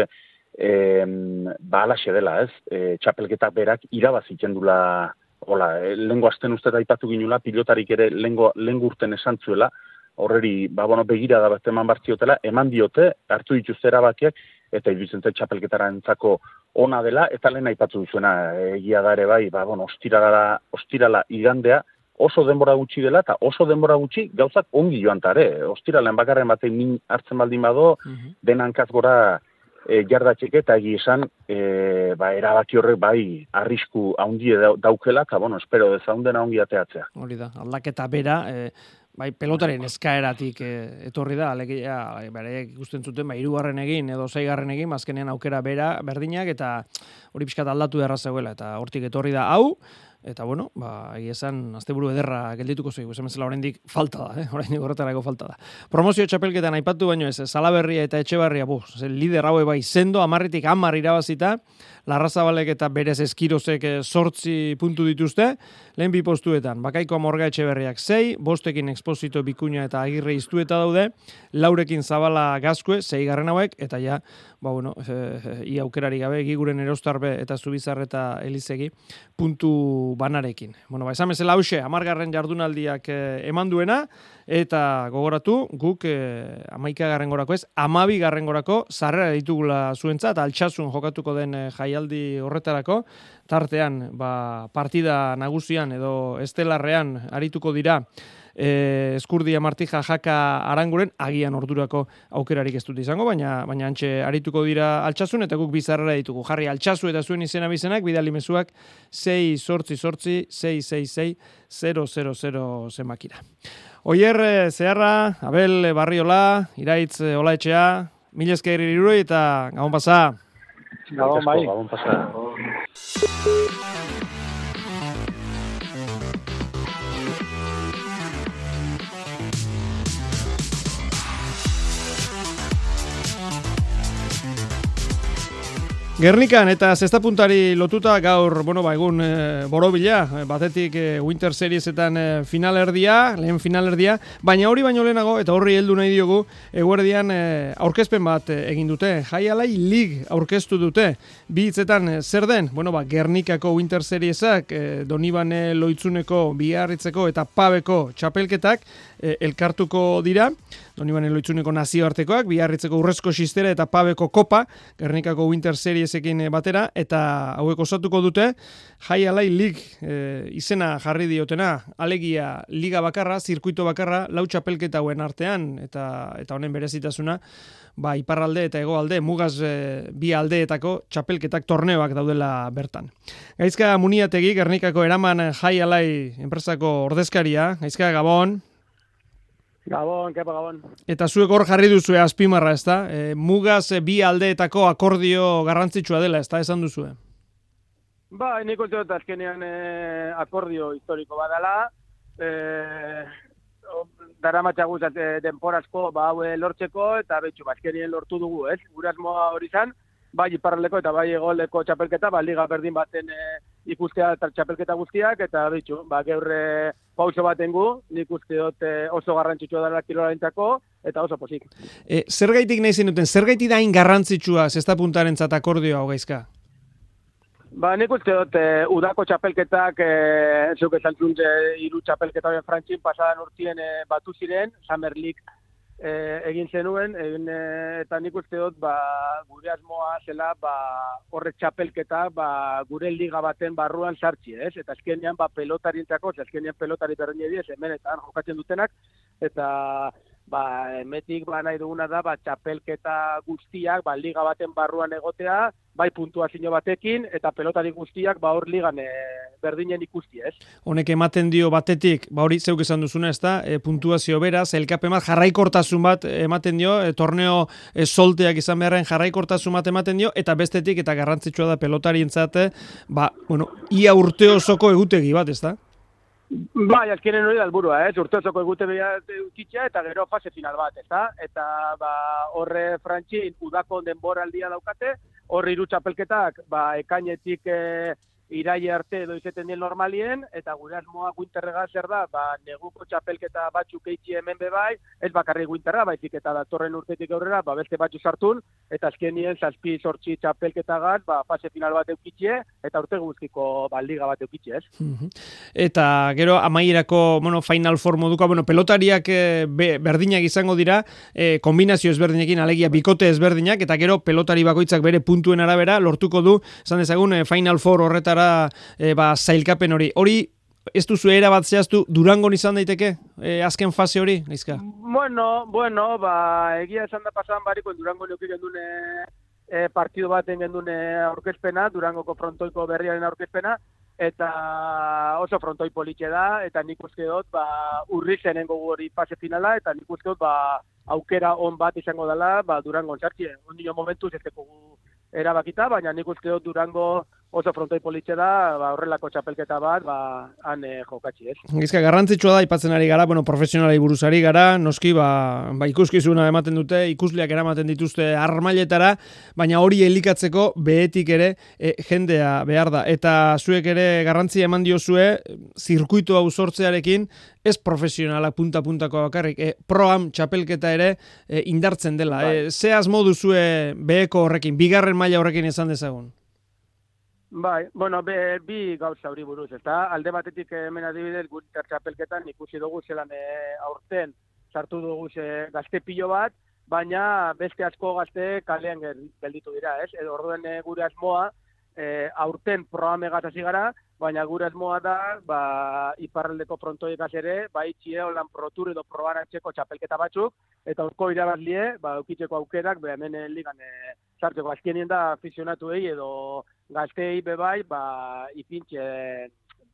alaxe dela, ez? Txapelketak berak irabazitzen dula, lehengo asten uste da aipatu ginula, pilotarik ere lehengo urten esan zuela, horreri, begira da bat eman bartziotela, eman diote, hartu dituzte erabakiak, eta iruditzen txapelketara entzako ona dela, eta lehen aipatu duzuena, egia da ere bai, ostirala igandea, oso denbora gutxi dela, eta oso denbora gutxi gauzak ongi joan tare. Ostiralen bakarren batean min hartzen baldin bado, denankaz gora jardatxeke, eta egi esan, erabaki horrek bai arrisku haundie daukela, eta espero dezaundena ongi ateatzea. Hori da, aldaketa bera, bai, pelotaren eskaeratik etorri da, alegia, ikusten zuten, 3. egin edo 6. egin, azkenean aukera bera berdinak, eta hori pixkat aldatu beharra zegoela, eta hortik etorri da hau, eta egia esan, asteburu ederra geldituko zaigu, esan bezala oraindik falta da, oraindik horretarako falta da. Promozio txapelketan aipatu baino ez, Salaberria eta Etxebarria, lider haue bai sendo, 10-tik 10 irabazita, Larrazabalek eta berez Eskirozek 8 puntu dituzte, lehen 2 postuetan, Bakaiko Amorga Etxeberriak 6, 5ekin Exposito Bikuña eta Agirre Iztueta daude, 4ekin Zabala Gazkue, 6. hauek, eta ja, ia aukerari gabe, Giguren Erostarbe eta Zubizar eta Elizegi, puntu banarekin. Esan bezala hause, 10. jardunaldiak eman duena, eta gogoratu, guk 11. gorako ez, 12. gorako sarrera ditugula zuentzat, Altsasun jokatuko den jaialdi horretarako, tartean partida nagusian edo estelarrean arituko dira Eskurdia Martija Jaka Aranguren, agian ordurako aukerarik ez dut izango, baina antxe arituko dira Altsasun, eta guk bizarrera ditugu. Jarri Altsasu eta zuen izena bizenak, bidali mezuak 688 666 000 zenbakira. Oier Zeharra, Abel Barriola, Iraitz Olaetxea, Mila esker Iruroi eta gabon pasa. Gabon bai. Gabon pasa. Gernikan eta zesta puntari lotuta gaur, egun borobila, batetik Winter Seriesetan finalerdia, lehen finalerdia, baina hori baino lehenago, eta horri heldu nahi diogu, eguerdian aurkezpen bat egin dute. Jai Alai League aurkeztu dute. Bi hitzetan zer den? Gernikako Winter Seriesak, Donibane Loitzuneko, Biarritzeko eta Pabeko txapelketak elkartuko dira. Donibane Loitzuneko nazioartekoak, Biarritzeko Urrezko Xistera eta Pabeko Kopa, Gernikako Winter Seriesekin batera, eta hauek osatuko dute Jai Alai League izena jarri diotena, alegia liga bakarra, zirkuito bakarra, 4 txapelketa hauen artean, eta honen berezitasuna, iparralde eta hegoalde, mugaz bi aldeetako txapelketak torneoak daudela bertan. Gaizka Muniategi, Gernikako eraman Jai Alai enpresako ordezkaria, Gaizka Gabon. Gabon, kepa Gabon. Eta zuek hor jarri duzue azpimarra, ezta? Mugaz bi aldeetako akordio garrantzitsua dela, ezta esan duzue? Nik uste dut azkenean akordio historiko badala. Daramatzagu denporazko hau lortzeko, eta betxu, azkenien lortu dugu, ez? Gure asmoa hori izan, bai iparraldeko eta bai hegoaldeko txapelketa, liga berdin baten ikustea eta txapelketa guztiak, eta betxu, gaur pauso baten gu, nik uste dut oso garrantzitsua dela kirolarentzako, eta oso pozik. Zergaitik nahi zenuten, zergaitik da hain garrantzitsua zesta puntarentzat akordioa hau Gaizka? Nik uste dut udako txapelketak, zuk esan zuen 3 txapelketa horien Frantxin pasadan urtien batu ziren, Summer League egin zenuen, eta nik uste dut gure asmoa zela horrek txapelketa gure liga baten barruan sartzi, ez? Eta azkenean pelotarientzako, azkenean pelotari berdin ediz, hemen eta jokatzen dutenak, eta emetik nahi duguna da txapelketa guztiak liga baten barruan egotea, bai puntuazio batekin, eta pelotari guztiak hor ligan berdinen ikusti, ez? Honek ematen dio batetik, hori zeuk esan duzuna, ez da, puntuazio beraz, elkapen bat jarraikortasun bat ematen dio, torneo solteak izan beharren jarraikortasun bat ematen dio, eta bestetik, eta garrantzitsua da pelotarientzat, ia urte osoko egutegi bat, ez da? Azkenen hori da helburua, urte osoko egutegi utitzea, eta gero fase final bat, ez da? Eta horre Frantxin udako denboraldia daukate, horri 3 txapelketak, ekainetik iraile arte edo izeten dien normalien, eta gure asmoa Winterrega zer da, neguko txapelketa batzuk eitzi hemen bebai, ez bakarrik Winterra, baizik eta datorren urtetik aurrera, beste batzu sartun, eta azkenien 7-8 txapelketagat, fase final bat eukitxe, eta urte guztiko liga bat eukitxe, ez? Eta gero amaierako, Final Four moduko, pelotariak berdinak izango dira, kombinazio ezberdinekin, alegia bikote ezberdinak, eta gero pelotari bakoitzak bere puntuen arabera, lortuko du, esan dezagun, Final Four horretara zailkapen hori. Hori, ez duzu erabat zehaztu, Durangon izan daiteke, azken fase hori, Gaizka? Egia esan da pasadan bariko, Durangon eukik gendune partidu baten gendune aurkezpena, Durangoko frontoiko berriaren aurkezpena, eta oso frontoi politxe da, eta nik uste dut, urri zenengo hori fase finala, eta nik uste dut, aukera on bat izango dela, Durangon sartxe. Ondino momentuz ez dugu erabakita, baina nik uste dut Durango oso frontoi politxe da, horrelako txapelketa bat, han jokatzi, ez? Gaizka, garrantzitsua da, ipatzen ari gara, profesionalei buruz ari gara, noski, ikuskizuna ematen dute, ikusleak eramaten dituzte armailetara, baina hori elikatzeko behetik ere jendea behar da. Eta zuek ere garrantzia eman diozue, zirkuito hau sortzearekin, ez profesionala punta-puntako bakarrik, pro-am txapelketa ere indartzen dela. Ze asmo duzue beheko horrekin, bigarren maila horrekin esan dezagun? Bi gauza hori buruz, eta alde batetik hemen adibidez gure txapelketan ikusi dugu zelan aurten sartu dugu gazte pilo bat, baina beste asko gazte kalean gelditu dira, ez? Edo orduen gure asmoa aurten programegaz hasi gara, baina gure asmoa da, iparraldeko frontoikaz ere, txie holan protur edo probaratzeko txapelketa batzuk, eta urko irabazlie, eukitzeko aukerak, hemen ligan sartzeko. Azkenien da afizionatuei edo gaztei bebai, ipintxe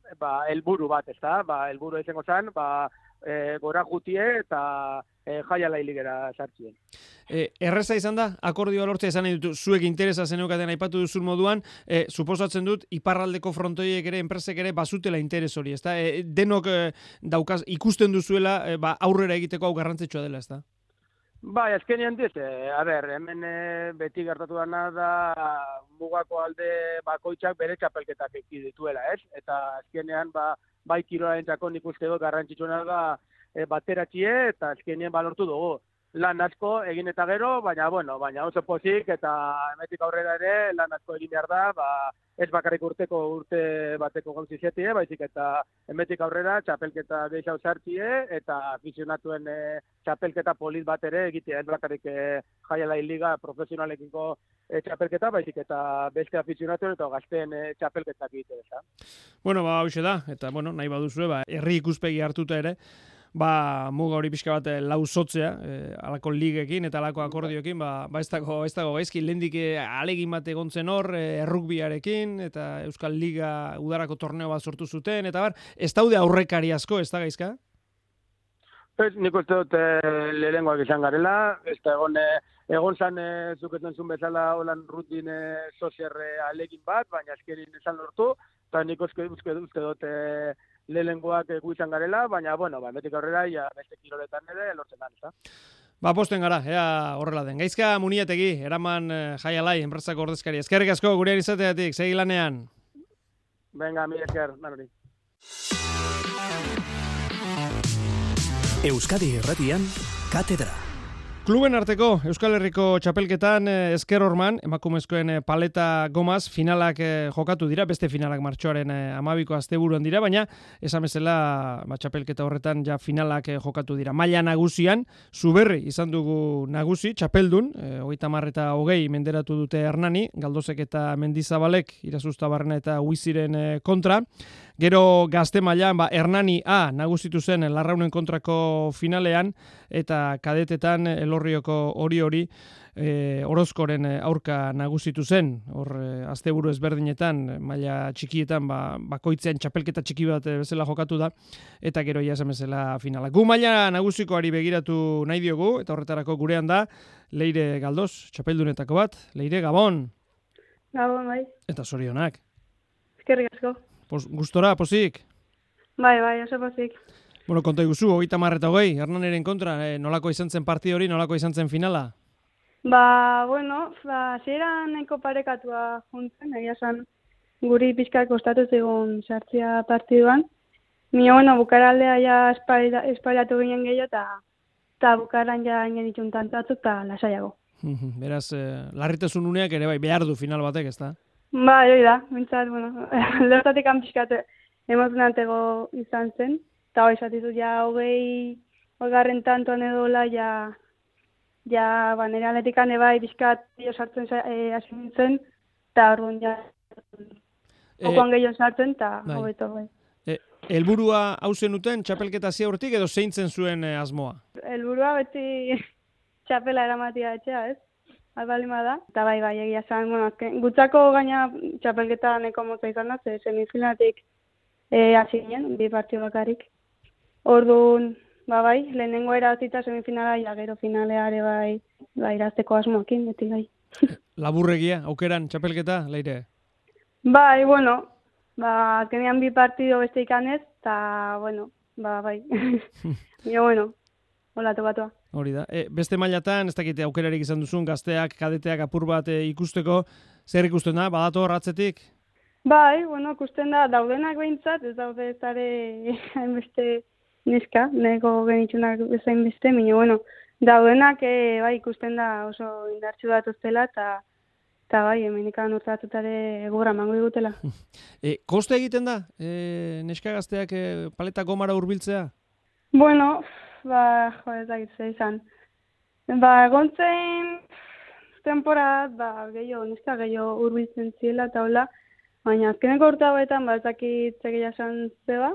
helburu bat, ezta? Helburu izango zen, gora jutie eta jaiala hiligera sartzien. Erreza izan da, akordioa lortzea izan nahi dut, zuek interesa zeneukaten aipatu duzun moduan, suposatzen dut, iparraldeko frontoiek ere, enpresek ere, bazutela interes hori, ezta? Denok daukaz, ikusten duzuela, aurrera egiteko hau garrantzitsua dela, ezta? Bai, azkenean diz, hemen beti gertatu dana da mugako alde bakoitzak bere txapelketak eki dituela, ez? Eta azkenean, bai kiroarentzako nik uste dut garrantzitsuena da bateratxie eta azkenean lortu dugu. Lan asko egin eta gero, baina oso pozik eta hemetik aurrera ere lan asko egin behar da, ez bakarrik urte bateko gauzizetie, baizik eta hemetik aurrera txapelketa gehiago sartie eta afizionatuen txapelketa polit bat ere egitea, ez bakarrik jaiala liga profesionalekiko txapelketa, baizik eta beste afizionatuen eta gazteen txapelketak egitea. Bueno, hauxe da, eta nahi baduzue, herri ikuspegi hartuta ere, muga hori pixka bat lausotzea, alako ligekin eta alako akordioekin, ez dago gaizki, lehendik alegin bat egontzen hor, errukbiarekin, eta Euskal Liga udarako torneo bat sortu zuten, eta ez daude aurrekari asko, ez da gaizka? Nik uste dut lehenengoak izan garela, ez da egon zan zuketan zuen bezala holan rutin sozierre alegin bat, baina azkerin esan lortu, eta nik uste dut lehenengoak izan garela, baina, betik aurrera, beste kiroletan ere lortzen da, ezta? Posten gara, ea horrela den. Gaizka Muniategi, eraman jaialai, enpresako ordezkari. Eskerrik asko, gurean izateatik, segi lanean. Venga, mi esker, nanori. Euskadi Irratian, Katedra. Kluben arteko Euskal Herriko txapelketan Esker Horman, emakumezkoen paleta gomaz, finalak jokatu dira, beste finalak martxoaren 12ko asteburuan dira, baina esan bezala txapelketa horretan ja finalak jokatu dira. Maila nagusian, Zuberri izan dugu nagusi, txapeldun, 30 eta 20 menderatu dute Hernani, Galdozek eta Mendizabalek, Irazustabarrena eta Huiziren kontra. Gero gazte mailan Hernani A nagusitu zen Larraunen kontrako finalean, eta kadetetan Elorrioko hori Orozkoren aurka nagusitu zen, hor asteburu ezberdinetan, maila txikietan bakoitzean txapelketa txiki bat bezala jokatu da, eta gero esan bezala finala. Gu maila nagusikoari begiratu nahi diogu, eta horretarako gurean da, Leire Galdoz, txapeldunetako bat. Leire, Gabon! Gabon, bai. Eta zorionak. Eskerrik asko. Gustora, pozik? Bai, oso pozik. Konta iguzu, 30 eta 20, Hernaniren kontra, nolako izan zen partida hori, nolako izan zen finala? Zieran nahiko parekatua juntzen, egia esan guri pixka kostatu zegoen sartzia partiduan. Bukaraldea ja espailatu ginen gehiago, eta bukaran ja inen ditun tantatzuk eta lasaiago. Beraz, larritasun uneak ere behar du final batek, ez da? Hori da, mintzat, lertatik pixkat emozionantego izan zen, eta hori esatizut ja 20 tantoan edola, nire atletikan ebai pixkat sartzen hasi nintzen, eta orduan ja okoan gehiago sartzen, eta hobeto bai. Helburua hau zenuten txapelketa ziaurtik edo zeintzen zuen asmoa? Helburua beti txapela eramatia etxea, ez? Albalima da, eta bai, egia zan, gutzako gaina txapelketa neko motza izan da, semifinalatik hasi ginen, 2 partidu bakarik. Orduan, lehenengo erazita semifinala, gero finaleare irazteko asmoakin, beti bai. Laburregia, aukeran txapelketa, Leire? Bai, azkenean 2 partidu beste ikanez, eta, bai. Hola, tobatua. Hori da. Beste mailatan, ez dakite aukerarik izan duzun, gazteak, kadeteak apur bat ikusteko, zer ikusten da, badator ratzetik? Bai, ikusten da, daudenak behintzat, ez daude zare hainbeste neska, nego genitzunak bezain beste, daudenak ikusten da oso indartsu bat oztela, eta hemenikan urtatutare gora mango digutela. Koste egiten da, neska gazteak paleta gomara hurbiltzea? Ez dakitze izan. Egontzen temporat, neska gehiago hurbiltzen ziela eta hola, baina azkeneko urte hauetan, ez dakit egia esan zeba,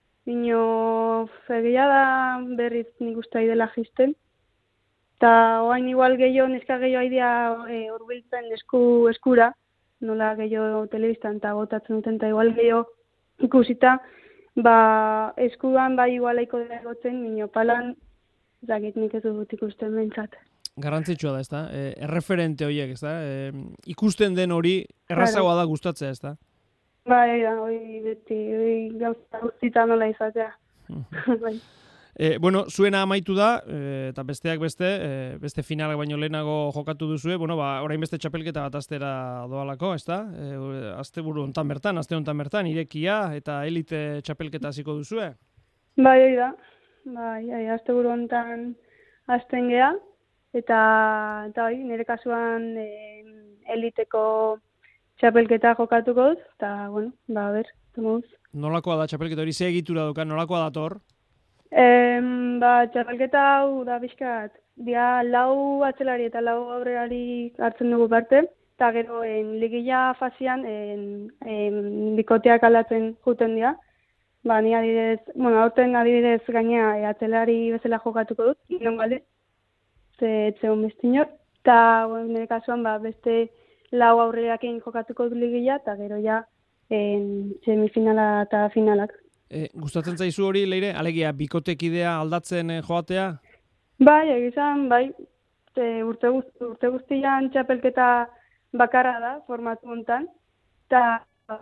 egia da berriz nik uste dela jisten, eta oain igual gehiago, neska gehiago aidea hurbiltzen eskura, nola gehiago telebistan eta botatzen duten, eta igual gehiago ikusita, eskuan igualaiko dela egotzen, minio palan, zakit nik ez dut ikusten behintzat. Garrantzitsua da, ezta? Erreferente horiek, ezta? Ikusten den hori errazagoa da gustatzea, ezta? Hori beti, gauza guztita nola izatea. Bueno, zuena amaitu da, eta besteak beste finalak baino lehenago jokatu duzue, orain beste txapelketa bat astera doalako, ezta? Aste honetan bertan, irekia eta elite txapelketa hasiko duzue? Hori da. Aste honetan hasten gea, eta nire kasuan eliteko txapelketa jokatuko dut, eta, tomuz. Nolakoa da txapelketa hori, ze egitura dukan, nolakoa dator? Txapelketa hau da bizkat, dia 4 atzelari eta 4 aurrelari hartzen dugu parte, eta gero ligilla fazian bikoteak aldatzen juten dira. Ni aurten adibidez gaina atzelari bezala jokatuko dut, non galde, etzegon bestinor, eta nire kasuan beste 4 aurrelakin jokatuko dut ligilla, eta gero ja semifinala eta finalak. Gustatzen zaizu hori, Leire, alegia bikotekidea aldatzen joatea? Egizan, urte guztian txapelketa bakarra da, formatu hontan, eta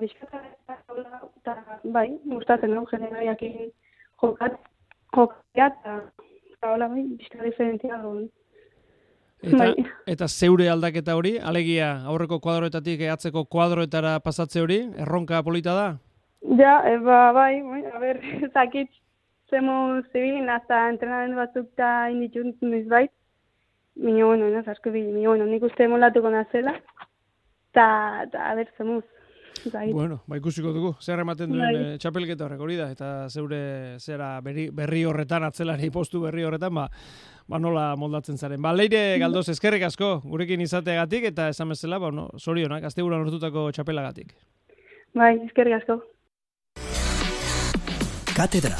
gustatzen dugu generariakin jokatea, eta bizka diferentzia dugu. Eta zeure aldaketa hori, alegia aurreko kuadroetatik atzeko kuadroetara pasatze hori, erronka polita da? Zakit, zemu zibilin, hasta entrenamendu batzuk eta inditut nizbait. Nik uste molatuko nazela. Eta, zemuz. Bueno, ikusiko dugu. Zer ematen duen txapelketa horrek hori da, eta zeure zera berri horretan, atzelari postu berri horretan, nola moldatzen zaren. Leire Galdoz, eskerrik asko, gurekin izateagatik, eta esan bezala, zorionak, asteburuan lortutako txapelagatik. Eskerrik asko. Katedra.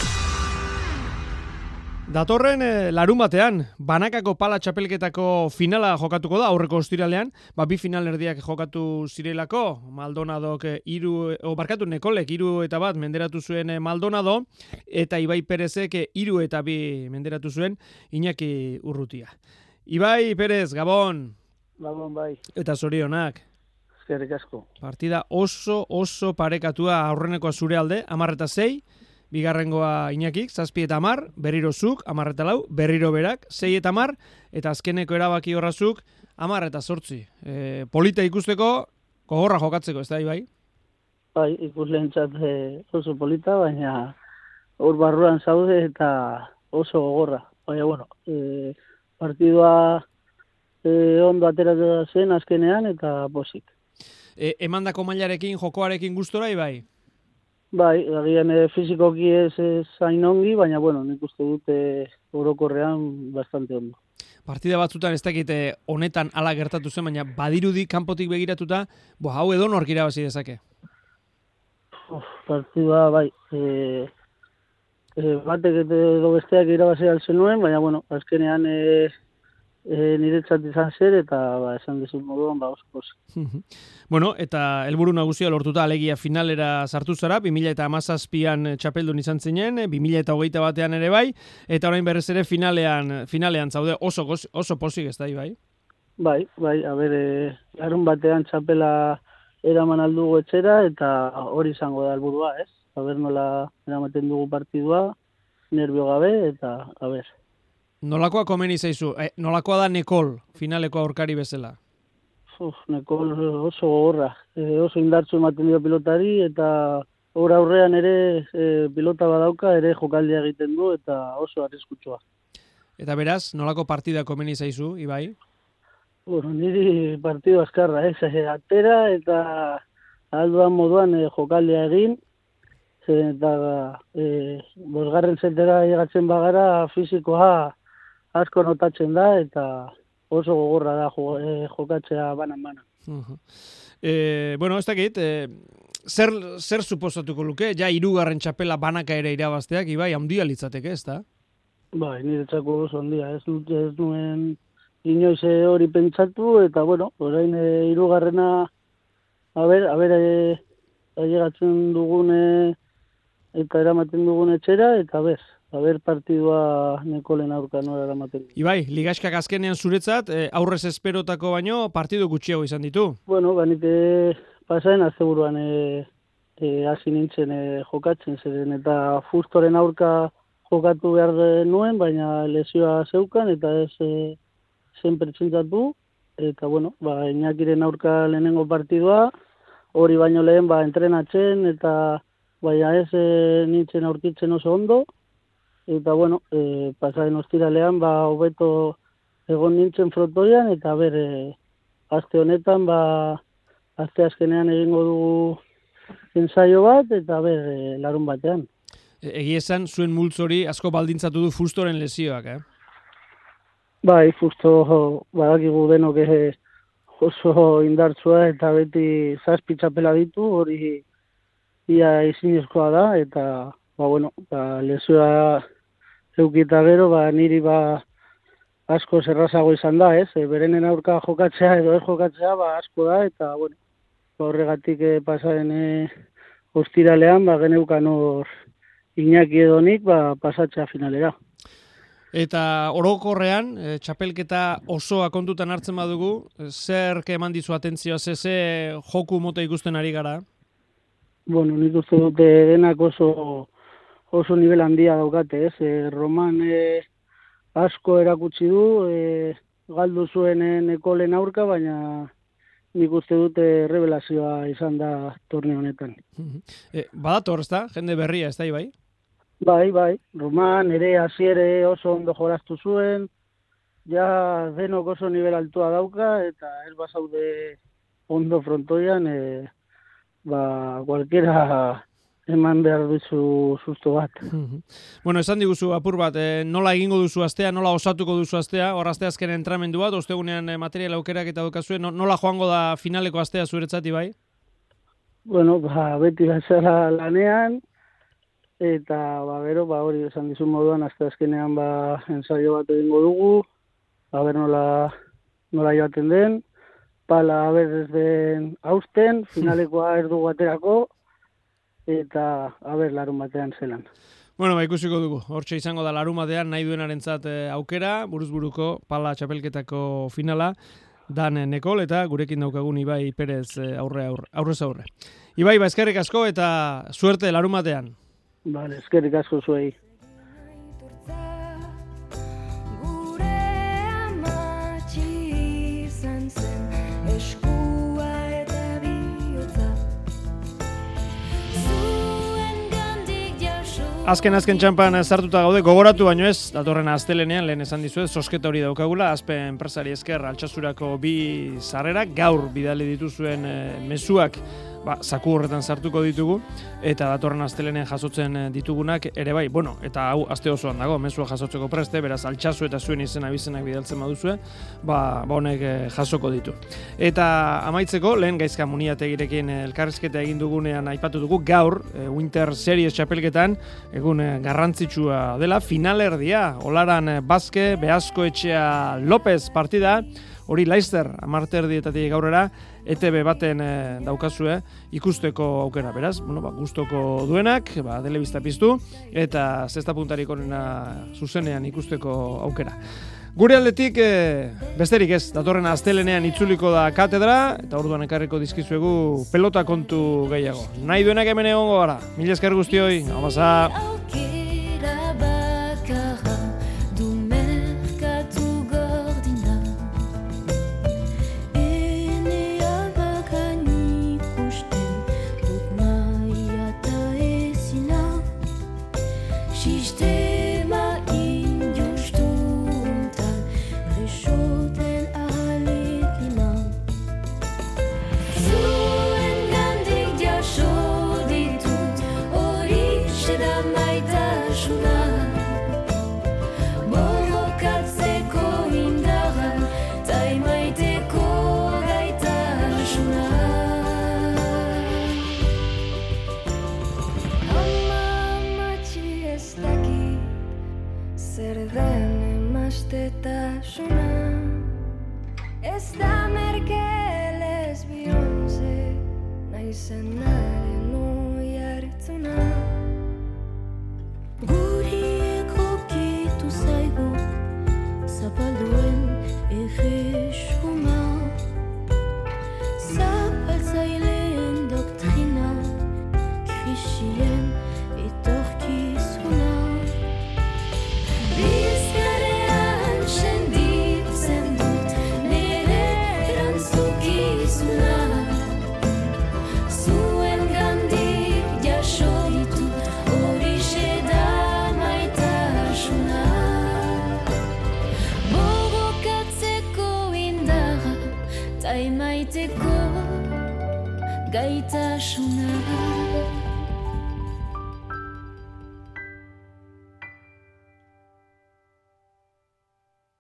Datorren larunbatean, banakako pala txapelketako finala jokatuko da, aurreko ostiralean, 2 finalerdiak jokatu zirelako, Maldonadok Nekolek 3-1 menderatu zuen Maldonado, eta Ibai Perezek 3-2 menderatu zuen Iñaki Urrutia. Ibai Perez, Gabon! Gabon, bai. Eta zorionak. Eskerrik asko. Partida oso parekatua aurrenekoa zure alde, 10-6, bigarrengoa Iñakik, 7-10, berriro zuk, 10-4, berriro berak, 6-10, eta azkeneko erabaki horrazuk, 10-8. Polita ikusteko, gogorra jokatzeko, ez da, Ibai? Ikusleentzat oso polita, baina hor barruan zaude eta oso gogorra. Baina, partidua ondo ateratzen zen azkenean eta posik. Emandako mailarekin, jokoarekin gustora, Ibai? Agian fizikoki ez zain ongi, baina, nik uste dute orokorrean bastante ondo. Partida batzutan ez dakit honetan ala gertatu zen, baina badirudi kanpotik begiratuta, hau edo nork irabazi dezake? Partida, batek edo besteak irabazi altzen nuen, baina, azkenean niretzat izan zer, eta esan dizut moduan, oso pozik. Eta helburu nagusia lortuta alegia finalera sartu zara, 2017an txapeldun izan zinen, 2021an ere bai, eta orain berrez ere finalean zaude oso pozik ez da, Ibai? Bai, larun batean txapela eraman aldugu etxera, eta hori izango da helburua, ez? Nola eramaten dugu partidua, nervio gabe, eta Nolakoa komeni zaizu? Nolakoa da Nekol, finaleko aurkari bezala? Nekol oso gogorra. Oso indartzu ematen dio pilotari, eta hor aurrean ere pilota badauka, ere jokaldia egiten du, eta oso arriskutsua. Eta beraz, nolako partida komeni zaizu, Ibai? Niri partidu azkarra, atera, eta alduan moduan jokaldia egin, eta bosgarren zetera egatzen bagara fizikoa asko notatzen da, eta oso gogorra da jokatzea banan-banan. Ez dakit, zer suposatuko luke? Ja, 3. txapela banaka ere irabazteak, Ibai, handia litzateke, ez da? Niretzako oso handia. Ez nuen inoiz hori pentsatu, eta, orain 3. ailegatzen dugun eta eramaten dugun etxera, eta ber partidua Nekolen aurka nola eramaten. Ibai, ligaskak azkenean zuretzat, aurrez esperotako baino partidu gutxiago izan ditu. Bueno, banite pasaen asteburuan hasi nintzen jokatzen zeren, eta Fustoren aurka jokatu behar nuen, baina lesioa zeukan, eta ez zen pertsentatu, eta bueno, Iñakiren aurka lehenengo partidua, hori baino lehen entrenatzen, eta baina ez nintzen aurkitzen oso ondo, eta bueno, pasaren ostiralean hobeto egon nintzen frontoian, eta aste honetan aste azkenean egingo dugu ensaio bat, eta larun batean. Egia esan, zuen multzori asko baldintzatu du Fustoren lesioak, Bai, Fusto badakigu denok oso indartsua, eta beti 7 txapela ditu, hori ia ezinezkoa da, eta lesioa eukita gero, niri asko zerrazago izan da, berenen aurka jokatzea edo ez jokatzea asko da, eta horregatik pasaren ostiralean geneukan hor Iñaki edonik pasatzea finalera. Eta orokorrean, txapelketa osoa kontutan hartzen badugu, zer eman dizu atentzioa, ze joku mota ikusten ari gara? Bueno, nik uste dute denak oso nivel handia daukate, Roman asko erakutsi du, galdu zuen Nekolen aurka, baina nik uste dute revelazioa izan da torneo honetan. Badator, ez da? Jende berria, ez da, Ibai? Bai. Roman ere hasiere oso ondo jolastu zuen, ja denok oso nivel altua dauka, eta ez bazaude ondo frontoian, cualquiera eman behar duzu susto bat. Bueno, esan diguzu apur bat, nola egingo duzu astea, nola osatuko duzu astea, hor astea azken entramendu bat, ostegunean material aukerak eta daukazue, nola joango da finaleko astea zuretzat, Ibai? Bueno, beti bezala lanean, eta gero, hori esan dizun moduan, aste azkenean ensaio bat egingo dugu, nola joaten den, pala ez den hausten, finalekoa ez dugu aterako, eta larun batean zelan. Bueno, ikusiko dugu. Hortxe izango da larun batean nahi duenarentzat aukera, buruzburuko pala txapelketako finala, Dan Nekol, eta gurekin daukagun Ibai Perez aurrez aurre. Ibai, eskerrik asko eta suerte larun batean. Vale, eskerrik asko zuei. Azken txampan sartuta gaude, gogoratu baino ez, datorren astelenean lehen esan dizuet, sosketa hori daukagula, Aspe enpresari esker Altsasurako 2 sarrerak, gaur bidali dituzuen mezuak zaku horretan sartuko ditugu, eta datorren astelenean jasotzen ditugunak ere bai, eta hau aste osoan dago, mezua jasotzeko preste, beraz Altsasu eta zuen izena bizenak bidaltzen baduzue, honek jasoko ditu. Eta amaitzeko, lehen Gaizka Muniategirekin elkarrizketa egin dugunean aipatu dugu, gaur, Winter Series txapelketan, egun garrantzitsua dela, finalerdia, Olaran Bazke, Beasko Etxea López partida, hori Leicester, 10:30 gaurera, ETB baten daukazue ikusteko aukera, beraz, gustoko duenak, telebista piztu, eta zesta puntarik onena zuzenean ikusteko aukera. Gure aldetik, besterik ez, datorren astelenean itzuliko da katedra, eta orduan ekarriko dizkizuegu pelota kontu gehiago. Nahi duenak hemen egongo gara. Mila esker guztioi, amasa! Ez da Merkel ez Beyoncé, naizenaren oi hartzuna. emaiteko gaitasuna